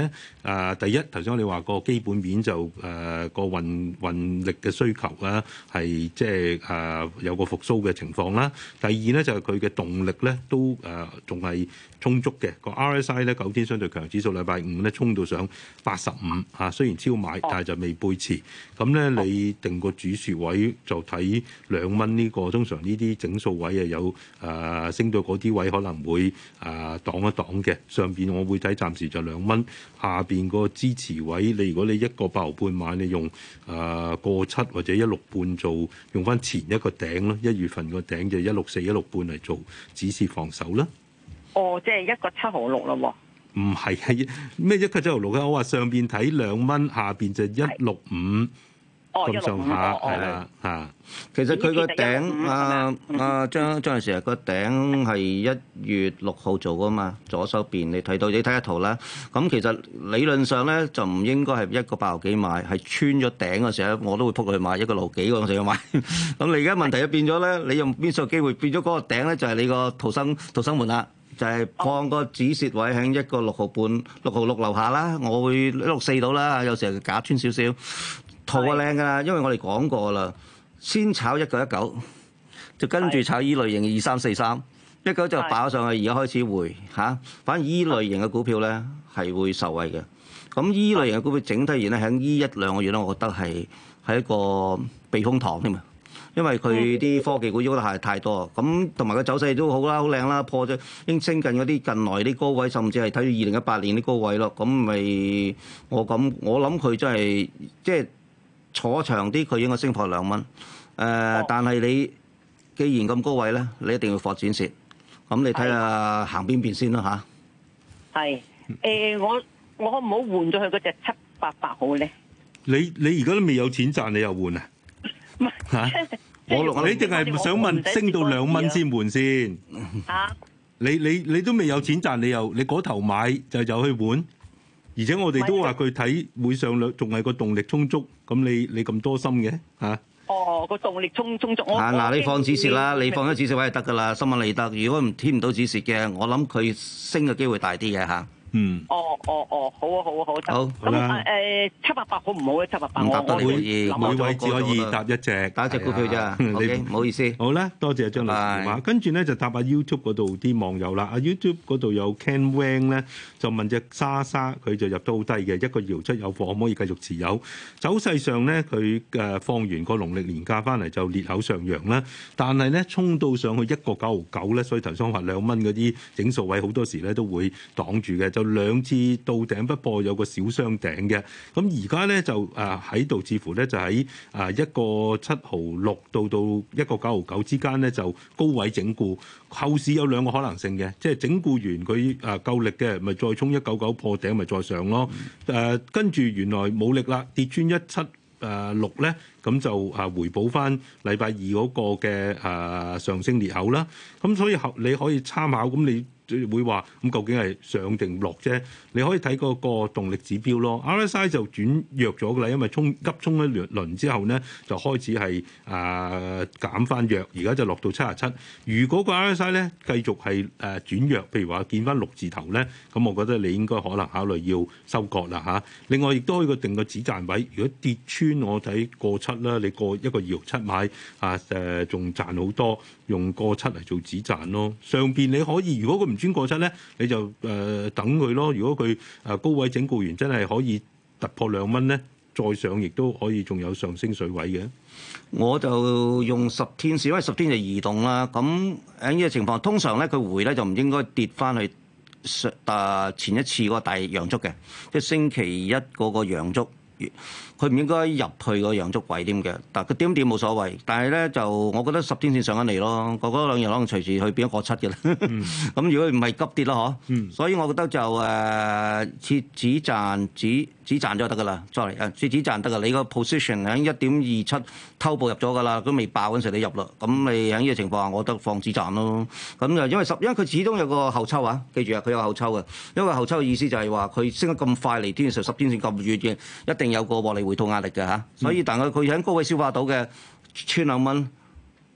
咧，啊、呃、第一頭先我哋話個基本面就誒、呃、個運運力嘅需求啦，係即係誒有個復甦嘅情況啦。第二咧就係佢嘅動力咧都誒仲係充足嘅。個 R S I 咧九天相對強指數禮拜五咧衝到上八十五嚇，雖然超買，但係就未背馳。咁咧你定個止蝕位就睇兩蚊呢個，通常呢啲整數位啊有誒、呃、升到嗰啲位可能會誒、呃、擋一擋嘅。上邊我會睇暫時就兩蚊，下邊個支持位你如果你一個八毫半買，你用誒個七或者一六半做，用翻前一個頂咯，一月份個頂就一六四一六半嚟做止蝕防守啦。 哦，即係一個七毫六啦喎。 唔係係咩一個七毫六啊？我話上邊睇兩蚊，下邊就一六五。 哦， 咁上下係啦嚇。 其實佢個頂啊啊張張女士啊，個頂係一月六號做噶嘛，左手邊你睇到你睇下圖啦。咁其實理論上咧就唔應該係一個八毫幾買，係穿咗頂嘅時候我都會撲佢去買一個六幾嗰陣時去買。咁你而家問題就變咗咧，你用邊數機會變咗嗰個頂咧就係你個逃生逃生門啦，就係放個止蝕位喺一個六毫半六毫六樓下啦。我會一六四到啦，有時候假穿少少。圖啊靚㗎啦，因為我哋講過啦，先炒一九一九，就跟住炒依類型二三四三，一九就爆上去，而家開始回嚇。反而依類型嘅股票咧係會受惠嘅。咁依類型嘅股票整體而言咧，喺依一兩個月咧，我覺得係係一個避風塘添啊。因為佢啲科技股喐得係太多，咁同埋個走勢都好啦，好靚啦，破咗已經升近嗰啲近來啲高位，甚至係睇到二零一八年啲高位咯。咁咪我咁我諗佢真係即係。坐長啲，佢應該升破兩蚊。誒、呃，哦、但係你既然咁高位咧，你一定要放展蝕。咁你睇下行邊邊先啦吓，係。 誒，我我可唔可換咗佢嗰隻七八八好咧？ 你你而家都未有錢賺，你又換啊？唔係嚇，我我你定係想問升到兩蚊先換先？嚇！你你你都未有錢賺，你又你嗰頭買就就去換？而且我哋都話佢睇會上兩，仲係個動力充足。咁你你咁多心嘅嚇？ 哦，個動力充充足。 啊嗱，你放止蝕啦，你放咗止蝕位就得噶啦，新聞你得。如果唔添唔到止蝕嘅，我諗佢升嘅機會大啲嘅嚇。嗯。 哦哦哦，好啊好啊好。 好。 咁誒七百八好唔好咧？七百八。 唔答得你可以， 每位只可以答一隻， 打一隻股票咋。你唔好意思。 好啦，多謝張律師電話。跟住咧就答下 YouTube 嗰度啲網友啦。啊 YouTube 嗰度有 Ken Wang 咧，就問隻莎莎，佢就入得好低嘅，一個搖出有貨，可唔可以繼續持有？走勢上咧，佢誒放完個農曆年假翻嚟就裂口上揚啦，但係咧衝到上去一個九毫九咧，所以頭先話兩蚊嗰啲整數位好多時咧都會擋住嘅，就兩次到頂不破，有個小雙頂嘅。咁而家咧就誒喺度，似乎咧就喺誒一個七毫六到到一個九毫九之間咧就高位整固。後市有兩個可能性嘅，即係整固完佢誒夠力嘅，咪再衝一九九破頂，咪再上咯。誒跟住原來冇力啦，跌穿一七誒六咧，咁就誒回補翻禮拜二嗰個嘅誒上升裂口啦。咁所以後你可以參考，咁你會話咁究竟係上定落啫？你可以睇嗰個動力指標咯。R S I 就轉弱咗噶啦，因為衝急衝一輪之後咧，就開始係誒減翻弱，而家就落到七十七。如果個 R S I 咧繼續係誒轉弱，譬如話見翻六字頭咧，咁我覺得你應該可能考慮要收割啦嚇。另外亦都可以個定個止賺位，如果跌穿我睇過七啦，你過一個二六七買啊誒，仲賺好多，用過七嚟做止賺咯。上邊你可以，如果佢唔穿過七咧，你就誒、呃、等佢咯。如果佢誒高位整固完，真係可以突破兩蚊咧，再上亦都可以，仲有上升水位嘅。 我就用十天線，因為十天就移動啦。咁喺呢個情況，通常咧佢回咧就唔應該跌翻去上誒前一次嗰個大陽燭嘅，即係星期一嗰個陽燭。佢唔應該入去個陽燭位點嘅，但係佢點點冇所謂。但係咧就我覺得十天線上緊嚟咯，嗰嗰兩日可能隨時去變一個七嘅啦。咁、嗯、如果唔係急跌咯，嗬、嗯。所以我覺得就誒設止賺止止賺咗得噶啦，sorry 誒設止賺得噶。你個 position 喺一點二七偷步入咗噶啦，都未爆嗰陣時你入啦。咁你喺呢個情況下，我覺得放止賺咯。咁就因為十，因為佢始終有個後抽啊，記住啊，佢有後抽嘅。因為後抽嘅意思就係話佢升得咁快嚟，天線十天線咁遠嘅，一定有個獲利回吐壓力嘅嚇。所以但係佢喺高位消化到嘅，穿兩蚊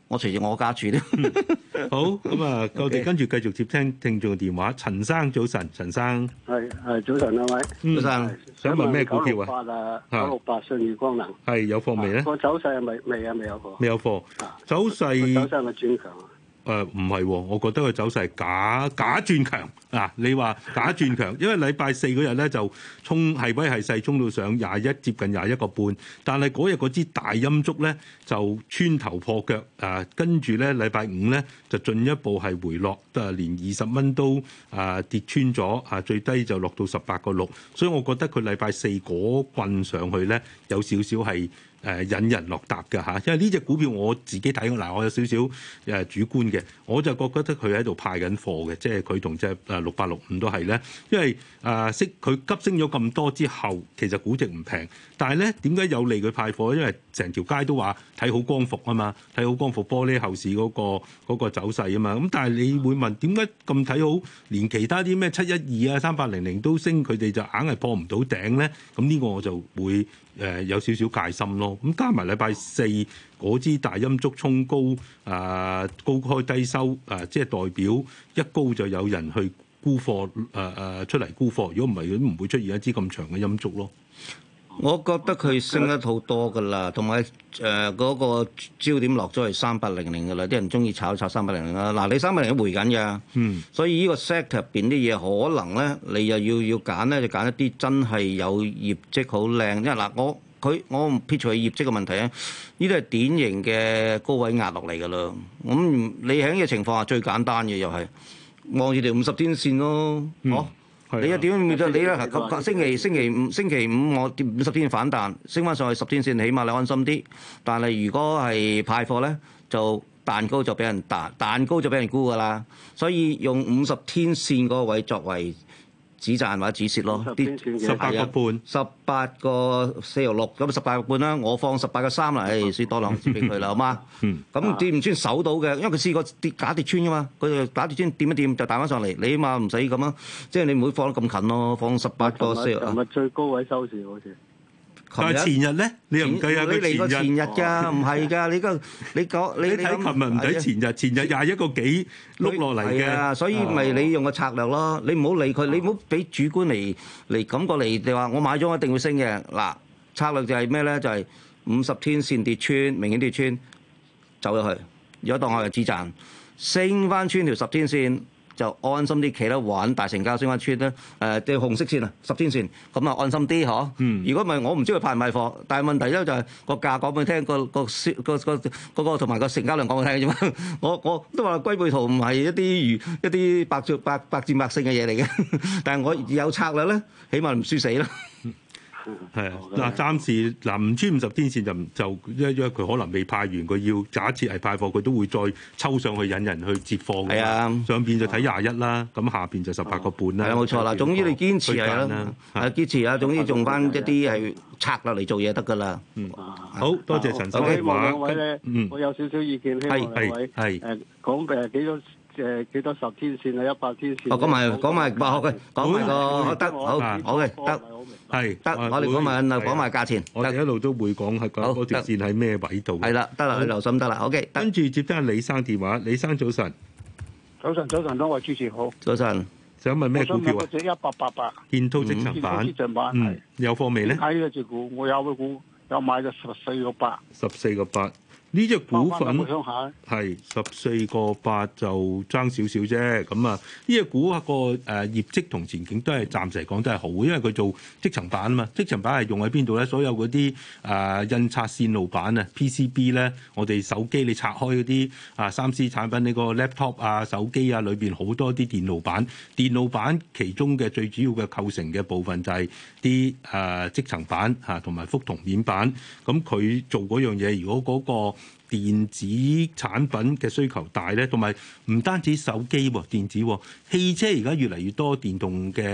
我隨住我家住咧。 好，咁啊，我哋跟住繼續接聽聽眾嘅電話。陳生早晨，陳生係係早晨兩位， 早晨， 想問咩股票啊？ 九六八啊，九六八信義光能係有貨未咧？ 個走勢係咪未啊？未有貨？ 未有貨。走勢走勢係咪轉強啊？ 誒唔係，我覺得佢走勢係假假轉強啊！你話假轉強，因為禮拜四嗰日咧就衝係威係勢衝到上廿一，接近廿一個半，但係嗰日嗰支大陰燭咧就穿頭破腳啊！跟住咧禮拜五咧就進一步係回落，啊連二十蚊都啊跌穿咗啊，最低就落到十八個六，所以我覺得佢禮拜四嗰棍上去咧有少少係。誒引人落搭嘅嚇，因為呢隻股票我自己睇嗱，我有少少誒主觀嘅，我就覺得佢喺度派緊貨嘅，即係佢同隻誒六八六五都係咧，因為誒息佢急升咗咁多之後，其實估值唔平，但係咧點解有利佢派貨？因為成條街都話睇好光伏啊嘛，睇好光伏玻璃後市嗰個嗰個走勢啊嘛，咁但係你會問點解咁睇好？連其他啲咩七一二啊、三八零零都升，佢哋就硬係破唔到頂咧？咁呢個我就會誒有少少戒心咯。咁加埋禮拜四嗰支大陰燭衝高，啊、呃、高開低收，啊、呃、即係代表一高就有人去沽貨，誒、呃、誒出嚟沽貨。如果唔係，佢都唔會出現一支咁長嘅陰燭咯。 我覺得佢升得好多㗎啦，同埋誒嗰個焦點落咗係三八零零㗎啦，啲人中意炒炒三八零零啦。嗱，你三八零零都回緊㗎，嗯，所以呢個 sector 入邊啲嘢可能咧，你又要要揀咧，就揀一啲真係有業績好靚。因為嗱，我佢我唔撇除佢業績嘅問題啊，呢啲係典型嘅高位壓落嚟㗎啦。咁你喺呢個情況下最簡單嘅又係望住條五十天線咯， 嗯、 哦。你一點面對你咧？星期星期五星期五我五十天反彈，升翻上去十天線，起碼你安心啲。但係如果係派貨咧，就蛋糕就俾人彈，蛋糕就俾人沽㗎啦。所以用五十天線嗰個位作為止賺或者止蝕咯，啲十八個半， 十八個四毫六，咁十八個半啦，我放十八個三啦，誒，輸多兩支俾佢啦，好嗎？嗯，咁跌唔穿守到嘅，因為佢試過跌假跌穿噶嘛，佢就假跌穿掂一掂就彈翻上嚟，你起碼唔使咁樣，即係你唔會放得咁近咯，放十八個四毫。 琴日最高位收市好似。 但係前日咧，你又唔計啊？ 你嚟過前日㗎，唔係㗎，你個你講你你睇琴日唔睇前日，前日廿一個幾碌落嚟嘅， 所以咪你用個策略咯，你唔好理佢，你唔好俾主觀嚟嚟感覺嚟，你話我買咗我一定會升嘅。嗱，策略就係咩咧？就係五十天線跌穿，明顯跌穿，走咗去。如果當我係止賺，升翻穿條十天線。就安心啲企得穩，大成交升翻穿咧，誒即係紅色線啊，十天線，咁啊安心啲嗬。嗯。如果唔係，我唔知佢派唔派貨，但係問題咧就係個價講俾你聽，個個銷個個嗰個同埋個成交量講俾你聽啫嘛。我我都話龜背圖唔係一啲如一啲百戰百百戰百勝嘅嘢嚟嘅，但係我有策略咧，起碼唔輸死啦。 係啊，嗱，暫時嗱唔穿五十天線就就因為佢可能未派完，佢要假設係派貨，佢都會再抽上去引人去接貨嘅。係啊，上邊就睇廿一啦，咁下邊就十八個半啦。係啊，冇錯啦。總之你堅持係啦，係堅持啊。總之用翻一啲係策略嚟做嘢得㗎啦。嗯， 好多謝陳生嘅話。 兩位咧，我有少少意見，希望兩位誒講誒幾多。誒幾多十天線啊，一百天線。 哦，講埋講埋話嘅，講埋個得，好好嘅，得係得，我哋講埋啊，講埋價錢。 我哋一路都會講係講嗰條線喺咩位度。 係啦，得啦，你留心得啦。OK， 跟住接聽阿李生電話，李生早晨。 早晨，早晨，多位主持好。 早晨， 想問咩股票啊？ 我想問嗰隻一八八八。 建滔積層板。 建滔積層板係。 有貨未咧？ 睇呢隻股，我有個股有買咗十四個八。 十四個八。呢隻股份係十四個八就爭少少啫，咁啊呢隻股個誒業績同前景都係暫時嚟講都係好，因為佢做積層板啊嘛，積層板係用喺邊度咧？所有嗰啲誒印刷線路板啊 P C B 咧，我哋手機你拆開嗰啲啊三 C 產品呢個 laptop 啊手機啊裏邊好多啲電路板，電路板其中嘅最主要嘅構成嘅部分就係啲誒積層板嚇同埋覆銅面板，咁佢做嗰樣嘢，如果嗰個電子產品嘅需求大咧，同埋唔單止手機喎，電子喎，汽車而家越嚟越多電動嘅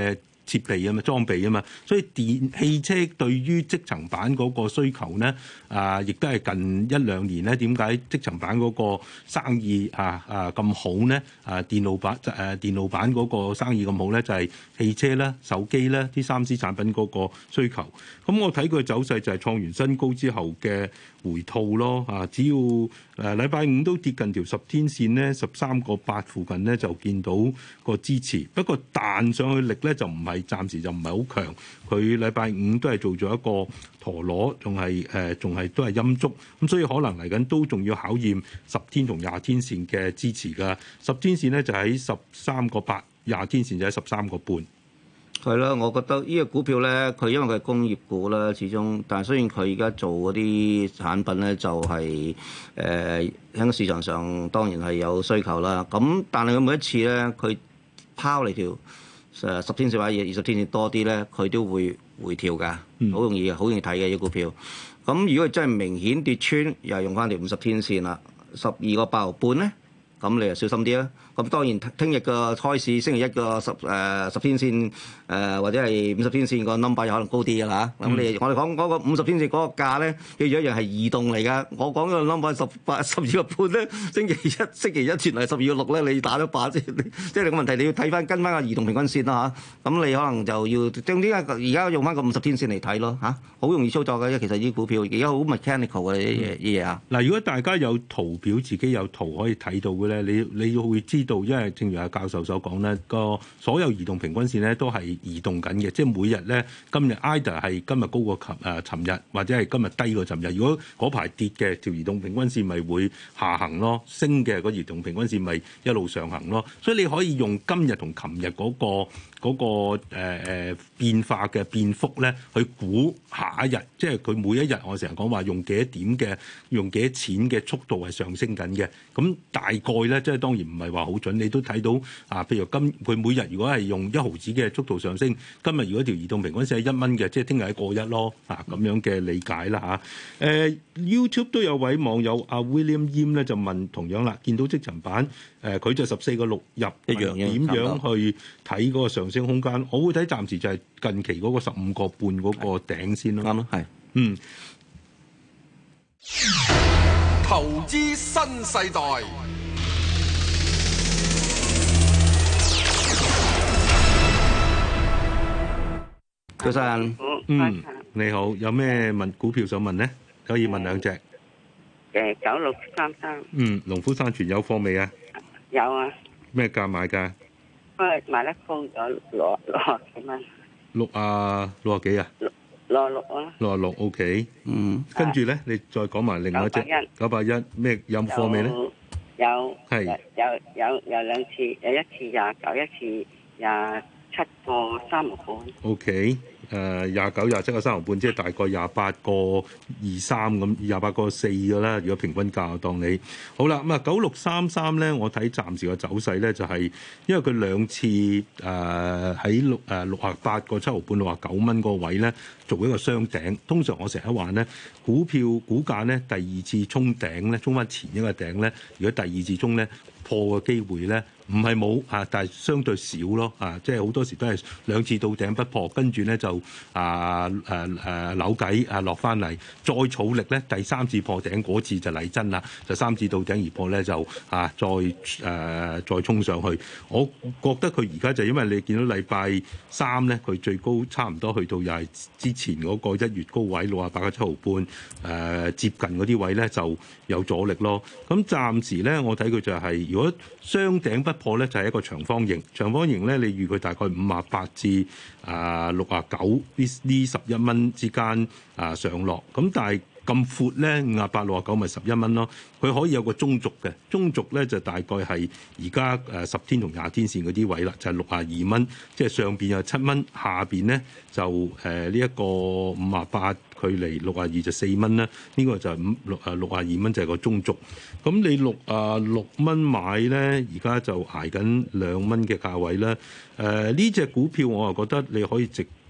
設備啊嘛，裝備啊嘛，所以電汽車對於積層板嗰個需求咧，啊，亦都係近一兩年咧，點解積層板嗰個生意啊啊咁好咧？啊，電路板誒、啊、電路板嗰個生意咁好咧，就係、是、汽車啦、手機啦、啲三 C 產品嗰個需求。咁我睇佢走勢就係創完新高之後嘅回吐咯。啊，只要誒禮拜五都跌近條十天線咧，十三個八附近咧就見到個支持。不過彈上去力咧就唔係，暫時就唔係好強。佢禮拜五都係做咗一個陀螺，仲係誒仲係都係陰燭。咁所以可能嚟緊都仲要考驗十天同廿天線嘅支持㗎。十天線咧就喺十三個八，廿天線就喺十三個半。 係啦，我覺得呢個股票咧，佢因為佢係工業股啦，始終，但係雖然佢而家做嗰啲產品咧，就係誒喺個市場上當然係有需求啦。咁但係佢每一次咧，佢拋嚟條誒十天線或者二十天線多啲咧，佢都會回調㗎，好、嗯、容易好容易睇嘅呢個股票。咁如果真係明顯跌穿，又係用翻條五十天線啦，十二個八毫半咧，咁你就小心啲啦。咁當然聽日嘅開市星期一個十誒十天線誒、呃、或者係五十天線個 number 有可能高啲嘅啦嚇。咁、嗯、你我哋講嗰個五十天線嗰個價咧，記住一樣係移動嚟㗎。我講個 number 十八十二個半咧，星期一星期一轉嚟十二個六咧，你打咗靶先。即係你個問題，你要睇翻跟翻個移動平均線啦嚇。咁、啊、你可能就要將點解而家用翻個五十天線嚟睇咯嚇，好、啊、容易操作嘅。其實呢啲股票而家好 mechanical 嘅嘢嘢啊。 嗱，如果大家有圖表，自己有圖可以睇到嘅咧，你你會知道，因為正如阿教授所講咧，個所有移動平均線咧都係移動緊嘅，即係每日咧今日 either 係今日高過琴誒尋日，或者係今日低過尋日。如果嗰排跌嘅條移動平均線咪會下行咯，升嘅個移動平均線咪一路上行咯。所以你可以用今日同琴日嗰個嗰、那個誒誒、呃、變化嘅變幅咧，去估下一日，即係佢每一日我成日講話用幾多點嘅，用幾多錢嘅速度係上升緊嘅。咁大概咧，即係當然唔係話好準，你都睇到啊。譬如今佢每日如果係用一毫子嘅速度上升，今日如果條移動平均線係一蚊嘅，即係聽日係過一咯啊，咁樣嘅理解啦嚇。誒、啊、YouTube 都有位網友阿 William Yim 咧就問同樣啦，見到積層板誒，佢、呃、就十四個六入一樣點樣去睇嗰個上升空間？我會睇暫時就係近期嗰個十五個半嗰個頂先咯。 啱咯，係嗯。 投資新世代。 早晨， 嗯，你好，有咩問股票想問咧？可以問兩隻。 誒，九六三三。 嗯，農夫山泉有貨未啊？ 有啊。 咩價買㗎？ 誒，買得高咗六六啊幾蚊。六啊六啊幾啊？ 六六六啊。 六啊六 OK。嗯。跟住咧，你再講埋另外一隻。九百一。九百一咩有貨未咧？ 有。 係。 有有有兩次，有一次廿九，一次廿七個三毫半。 OK。誒廿九廿七個三毫半，即係大概廿八個二三咁，廿八個四嘅啦。如果平均價當你好啦，咁啊九六三三咧，我睇暫時個走勢咧就係、是、因為佢兩次誒喺六誒六啊八個七毫半六啊九蚊個位咧做一個雙頂。通常我成日話咧，股票股價咧第二次衝頂咧，衝翻前一個頂咧，如果第二次衝咧破嘅機會咧唔係冇啊，但係相對少咯啊，即係好多時都係兩次到頂不破，跟住咧就啊誒誒扭計啊落翻嚟，再儲力咧第三次破頂嗰次就嚟真啦，就三次到頂而破咧就啊再誒、啊、再衝上去。我覺得佢而家就因為你見到禮拜三咧，佢最高差唔多去到又係之前嗰個一月高位六啊八個七毫半誒、啊、接近嗰啲位咧就有阻力咯。咁暫時咧我睇佢就係、是、如果雙頂不破咧，就係一個長方形。長方形咧，你預佢大概五啊八至啊六啊九呢呢十一蚊之間啊上落。咁但係咁闊咧，五啊八六啊九咪十一蚊咯。佢可以有個中軸嘅，中軸咧就大概係而家誒十天同廿天線嗰啲位啦，就係六啊二蚊。即係上邊有七蚊，下邊咧就誒呢一個五啊八距離六啊二就四蚊啦。呢、這個就係五六啊六啊二蚊就係個中軸。咁你六啊六蚊買咧，而家就捱緊兩蚊嘅價位啦。誒呢隻股票我又覺得你可以直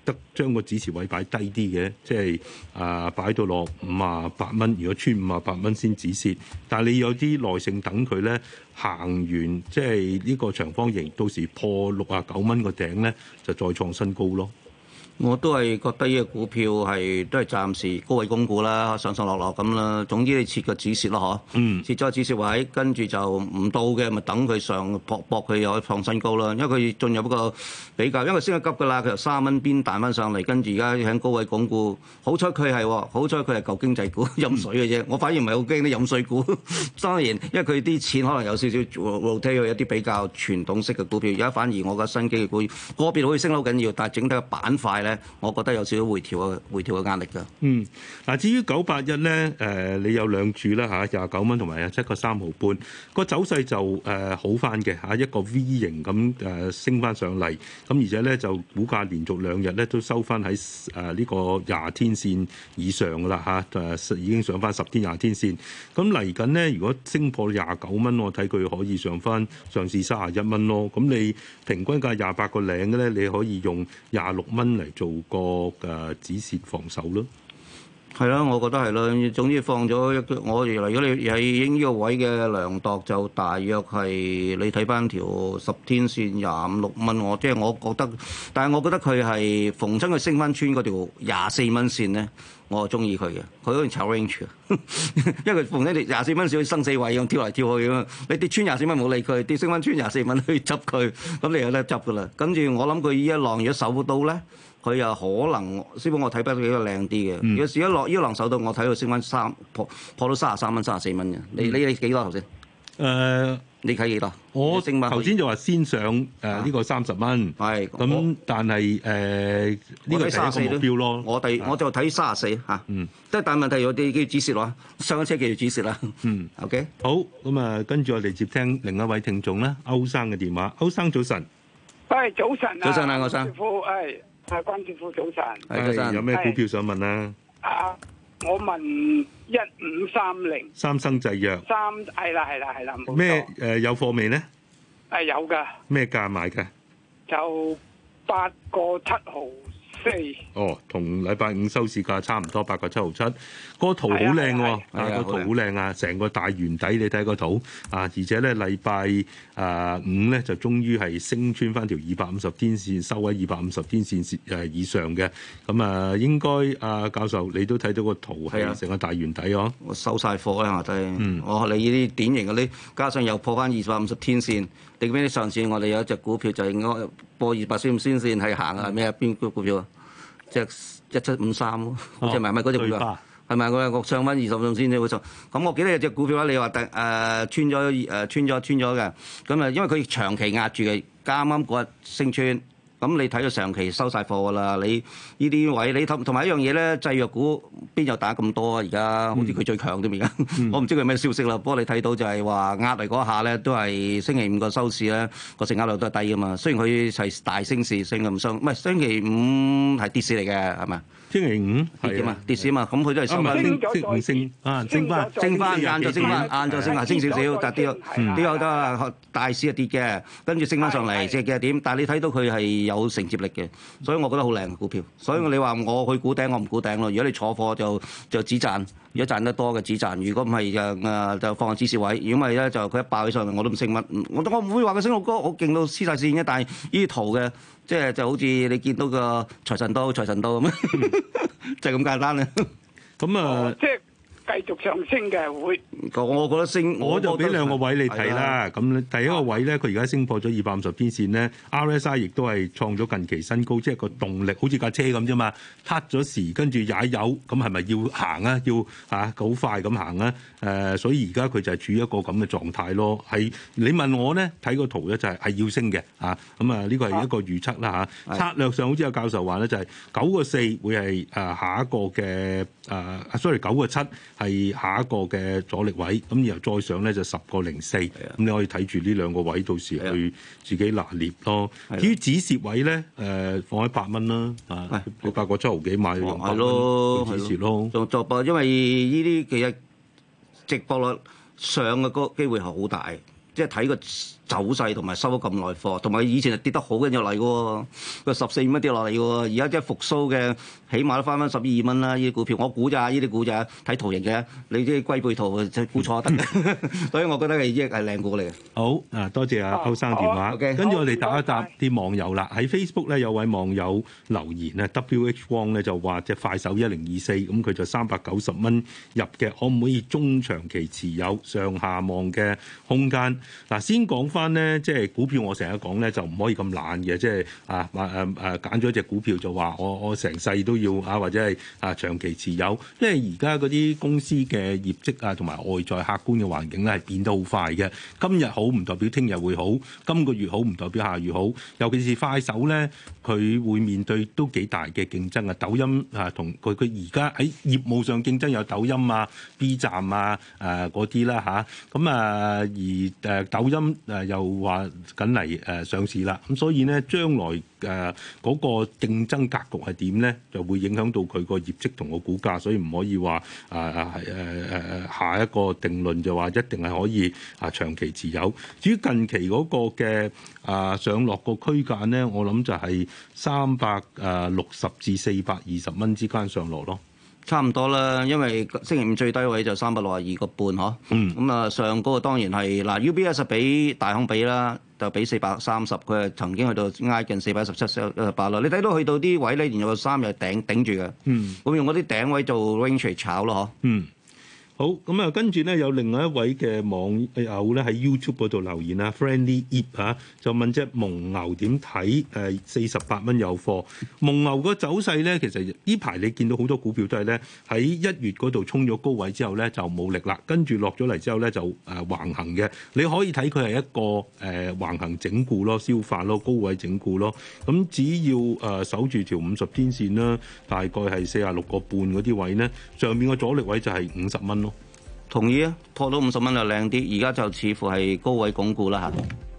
得將個止蝕位擺低啲嘅，即係啊擺到落五啊八蚊，如果穿五啊八蚊先止蝕。但係你有啲耐性等佢咧行完，即係呢個長方形，到時破六啊九蚊個頂咧，就再創新高咯。 我都係覺得呢個股票係都係暫時高位供股啦，上上落落咁啦。總之你設個止蝕咯，嗬。嗯。設咗個止蝕位，跟住就唔到嘅，咪等佢上搏搏佢又可以創新高啦。因為佢進入一個比較，因為升得急㗎啦，佢由三蚊邊彈翻上嚟，跟住而家喺高位供股。好彩佢係，好彩佢係舊經濟股飲水嘅啫。我反而唔係好驚啲飲水股。當然，因為佢啲錢可能有少少 rotate 去一啲比較傳統式嘅股票。而家反而我覺得新機嘅股個別可以升得好緊要，但係整體嘅板塊咧，我覺得有少少回調嘅回調嘅壓力㗎。 嗯，嗱，至於九八一咧，誒，你有兩注啦嚇，廿九蚊同埋廿七個三毫半，個走勢就誒好翻嘅嚇，一個 V 型咁誒升翻上嚟，咁而且咧就股價連續兩日咧都收翻喺誒呢個廿天線以上㗎啦嚇，誒已經上翻十天廿天線。咁嚟緊咧，如果升破廿九蚊，我睇佢可以上翻上試三十一蚊咯。咁你平均價廿八個零嘅咧，你可以用廿六蚊嚟做個誒止蝕防守咯。 係啦，我覺得係啦。總之放咗一個，我原來如果你係影呢個位嘅量度，就大約係你睇翻條十天線廿五六蚊。我即係我覺得，但係我覺得佢係逢親佢升翻穿嗰條廿四蚊線咧，我係中意佢嘅。佢好似炒 range 嘅，因為佢逢親條廿四蚊線生死位咁跳嚟跳去咁。你跌穿廿四蚊冇理佢，跌升翻穿廿四蚊去執佢，咁你有得執噶啦。跟住我諗佢呢一浪如果守到咧，佢又可能，師傅我睇得比較靚啲嘅。嗯、如果試一落呢一浪手到，我睇到升翻三破破到三十三蚊、三十四蚊嘅。你你你幾多頭先？誒、呃，你睇幾多？ 我頭先就話先上誒呢、呃這個三十蚊。係。咁但係誒呢個係一個目標咯。 我哋我就睇三十四嚇。嗯。即係但係問題有啲叫止蝕咯，上咗車記住止蝕啦。嗯。OK。 好，咁啊，跟住我哋接聽另一位聽眾啦，歐生嘅電話。歐生早晨。 喂，早晨啊。 早晨啊，歐生。 係。係關師傅早晨， 係有咩股票想問啊？ 啊，我問一五三零三生製藥， 三係啦係啦係啦， 咩誒有貨未咧？ 係有噶。咩價買㗎？ 就八個七毫四。 哦，同禮拜五收市價差唔多，八個七毫七。個圖好靚喎，啊個圖好靚啊，成個大圓底你睇個圖啊，而且咧禮拜啊五咧就終於係升穿翻條二百五十天線，收喺二百五十天線誒以上嘅。咁啊，應該啊教授你都睇到個圖係成個大圓底哦。 我收晒貨啦，下低。嗯。我你呢啲典型嗰啲，加上又破翻二百五十天線。定邊啲上次我哋有一隻股票就應該破二百線先線係行啊咩啊邊個股票啊？即係一七五三咯，好似係咪咪嗰隻股票？係咪我我上翻二十線先至會上？咁我記得有隻股票咧，你話第誒穿咗誒穿咗穿咗嘅，咁啊因為佢長期壓住嘅，啱啱嗰日升穿。咁你睇到長期收晒貨㗎啦，你呢啲位你同同埋一樣嘢咧，製藥股邊有打咁多啊？而家好似佢最強啲而家，嗯、我唔知佢咩消息啦。不過你睇到就係話壓嚟嗰下咧，都係星期五個收市咧個成交量都係低㗎嘛。雖然佢係大升市升咁上，唔係星期五係跌市嚟嘅係咪？ 星期五跌嘛，跌市嘛，咁佢都係升翻， 升升啊，升翻， 升翻，晏晝升翻，晏晝升下升少少，但係跌咗，跌咗得啊，大市啊跌嘅，跟住升翻上嚟，即係幾點？但係你睇到佢係有承接力嘅，所以我覺得好靚嘅股票。所以你話我去估頂，我唔估頂咯。如果你坐貨就就止賺，如果賺得多嘅止賺，如果唔係就誒就放喺止蝕位。如果唔係咧，就佢一爆起上嚟，我都唔升乜。我我唔會話佢升到高，我勁到黐晒線嘅。但係呢啲圖嘅。即係就好似你見到個財神刀、財神刀咁，就係咁簡單啦。 咁啊， 即係繼續上升嘅會。 我覺得升， 我就俾兩個位你睇啦。咁第一個位咧，佢而家升破咗二百五十天線咧 ，R S I 亦都係創咗近期新高，即係個動力好似架車咁啫嘛。撻咗時跟住踩油，咁係咪要行啊？要嚇好快咁行啊？誒、呃，所以而家佢就係處於一個咁嘅狀態咯。係你問我咧，睇個圖咧就係係要升嘅嚇。咁啊，呢個係一個預測啦嚇。啊、策略上好似有教授話咧，就係九個四會係誒下一個嘅誒，sorry 九個七係下一個嘅阻力位。咁然後再上咧就十個零四。咁你可以睇住呢兩個位，到時去自己拿捏咯。至於止蝕位咧，誒、呃、放喺八蚊啦。啊，你八個七毫幾買用八蚊止蝕咯。 做做噃，因為呢啲其實。直播率上嘅個機會係好大， 即係睇個走勢同埋收咗咁耐貨，同埋以前係跌得好緊要嚟嘅喎，個十四蚊跌落嚟嘅喎，而家即係復甦嘅，起碼都翻翻十二蚊啦。呢啲股票我估咋，呢啲股咋睇圖形嘅，你啲龜背圖就估錯得嘅，所以我覺得係益係靚股嚟嘅。 好啊，多謝阿歐生電話。 哦、okay, 跟住我哋答一答啲網友啦。喺 Facebook 咧有位網友留言咧 ，W H Wong 咧就話隻快手一零二四，咁佢就三百九十蚊入嘅，可唔可以中長期持有上下望嘅空間？嗱，先講翻咧，即係股票我成日講咧就唔可以咁懶嘅，即係啊啊啊揀咗隻股票就話我我成世都要啊，或者係啊長期持有，因為而家嗰啲公司嘅業績啊同埋外在客觀嘅環境咧係變得好快嘅，今日好唔代表聽日會好，今個月好唔代表下月好，尤其是快手咧，佢會面對都幾大嘅競爭啊！抖音啊，同佢佢而家喺業務上競爭有抖音啊、B 站啊、誒嗰啲啦嚇，咁啊而誒、呃、抖音誒又話緊嚟誒上市啦，咁所以咧將來誒嗰、呃那個競爭格局係點咧，就會影響到佢個業績同個股價，所以唔可以話誒誒誒誒下一個定論就話一定係可以啊長期持有。至於近期嗰個嘅啊上落個區間咧，我諗就係三百誒六十至四百二十蚊之間上落咯。 差唔多啦，因為星期五最低位就三百六十二個半嗬。嗯。咁啊，上嗰個當然係嗱 U B S 比大行比啦，就比四百三十，佢係曾經去到挨近四百一十七、四百一十八啦。你睇到去到啲位咧，連有個三日頂頂住嘅。嗯。咁用嗰啲頂位做 range 嚟炒咯，嗬。嗯。 好，咁啊，跟住咧有另外一位嘅網友咧喺 YouTube 嗰度留言啊 ，Friendly Ip 嚇就問隻蒙牛點睇？誒四十八蚊有貨。蒙牛個走勢咧，其實呢排你見到好多股票都係咧喺一月嗰度衝咗高位之後咧就冇力啦，跟住落咗嚟之後咧就誒橫行嘅。你可以睇佢係一個誒、呃、橫行整固咯、消化咯、高位整固咯。咁只要誒、呃、守住條五十天線啦，大概係四十六個半嗰啲位咧，上面個阻力位就係五十蚊咯。 同意啊，破到五十蚊就靚啲，而家就似乎係高位鞏固啦嚇。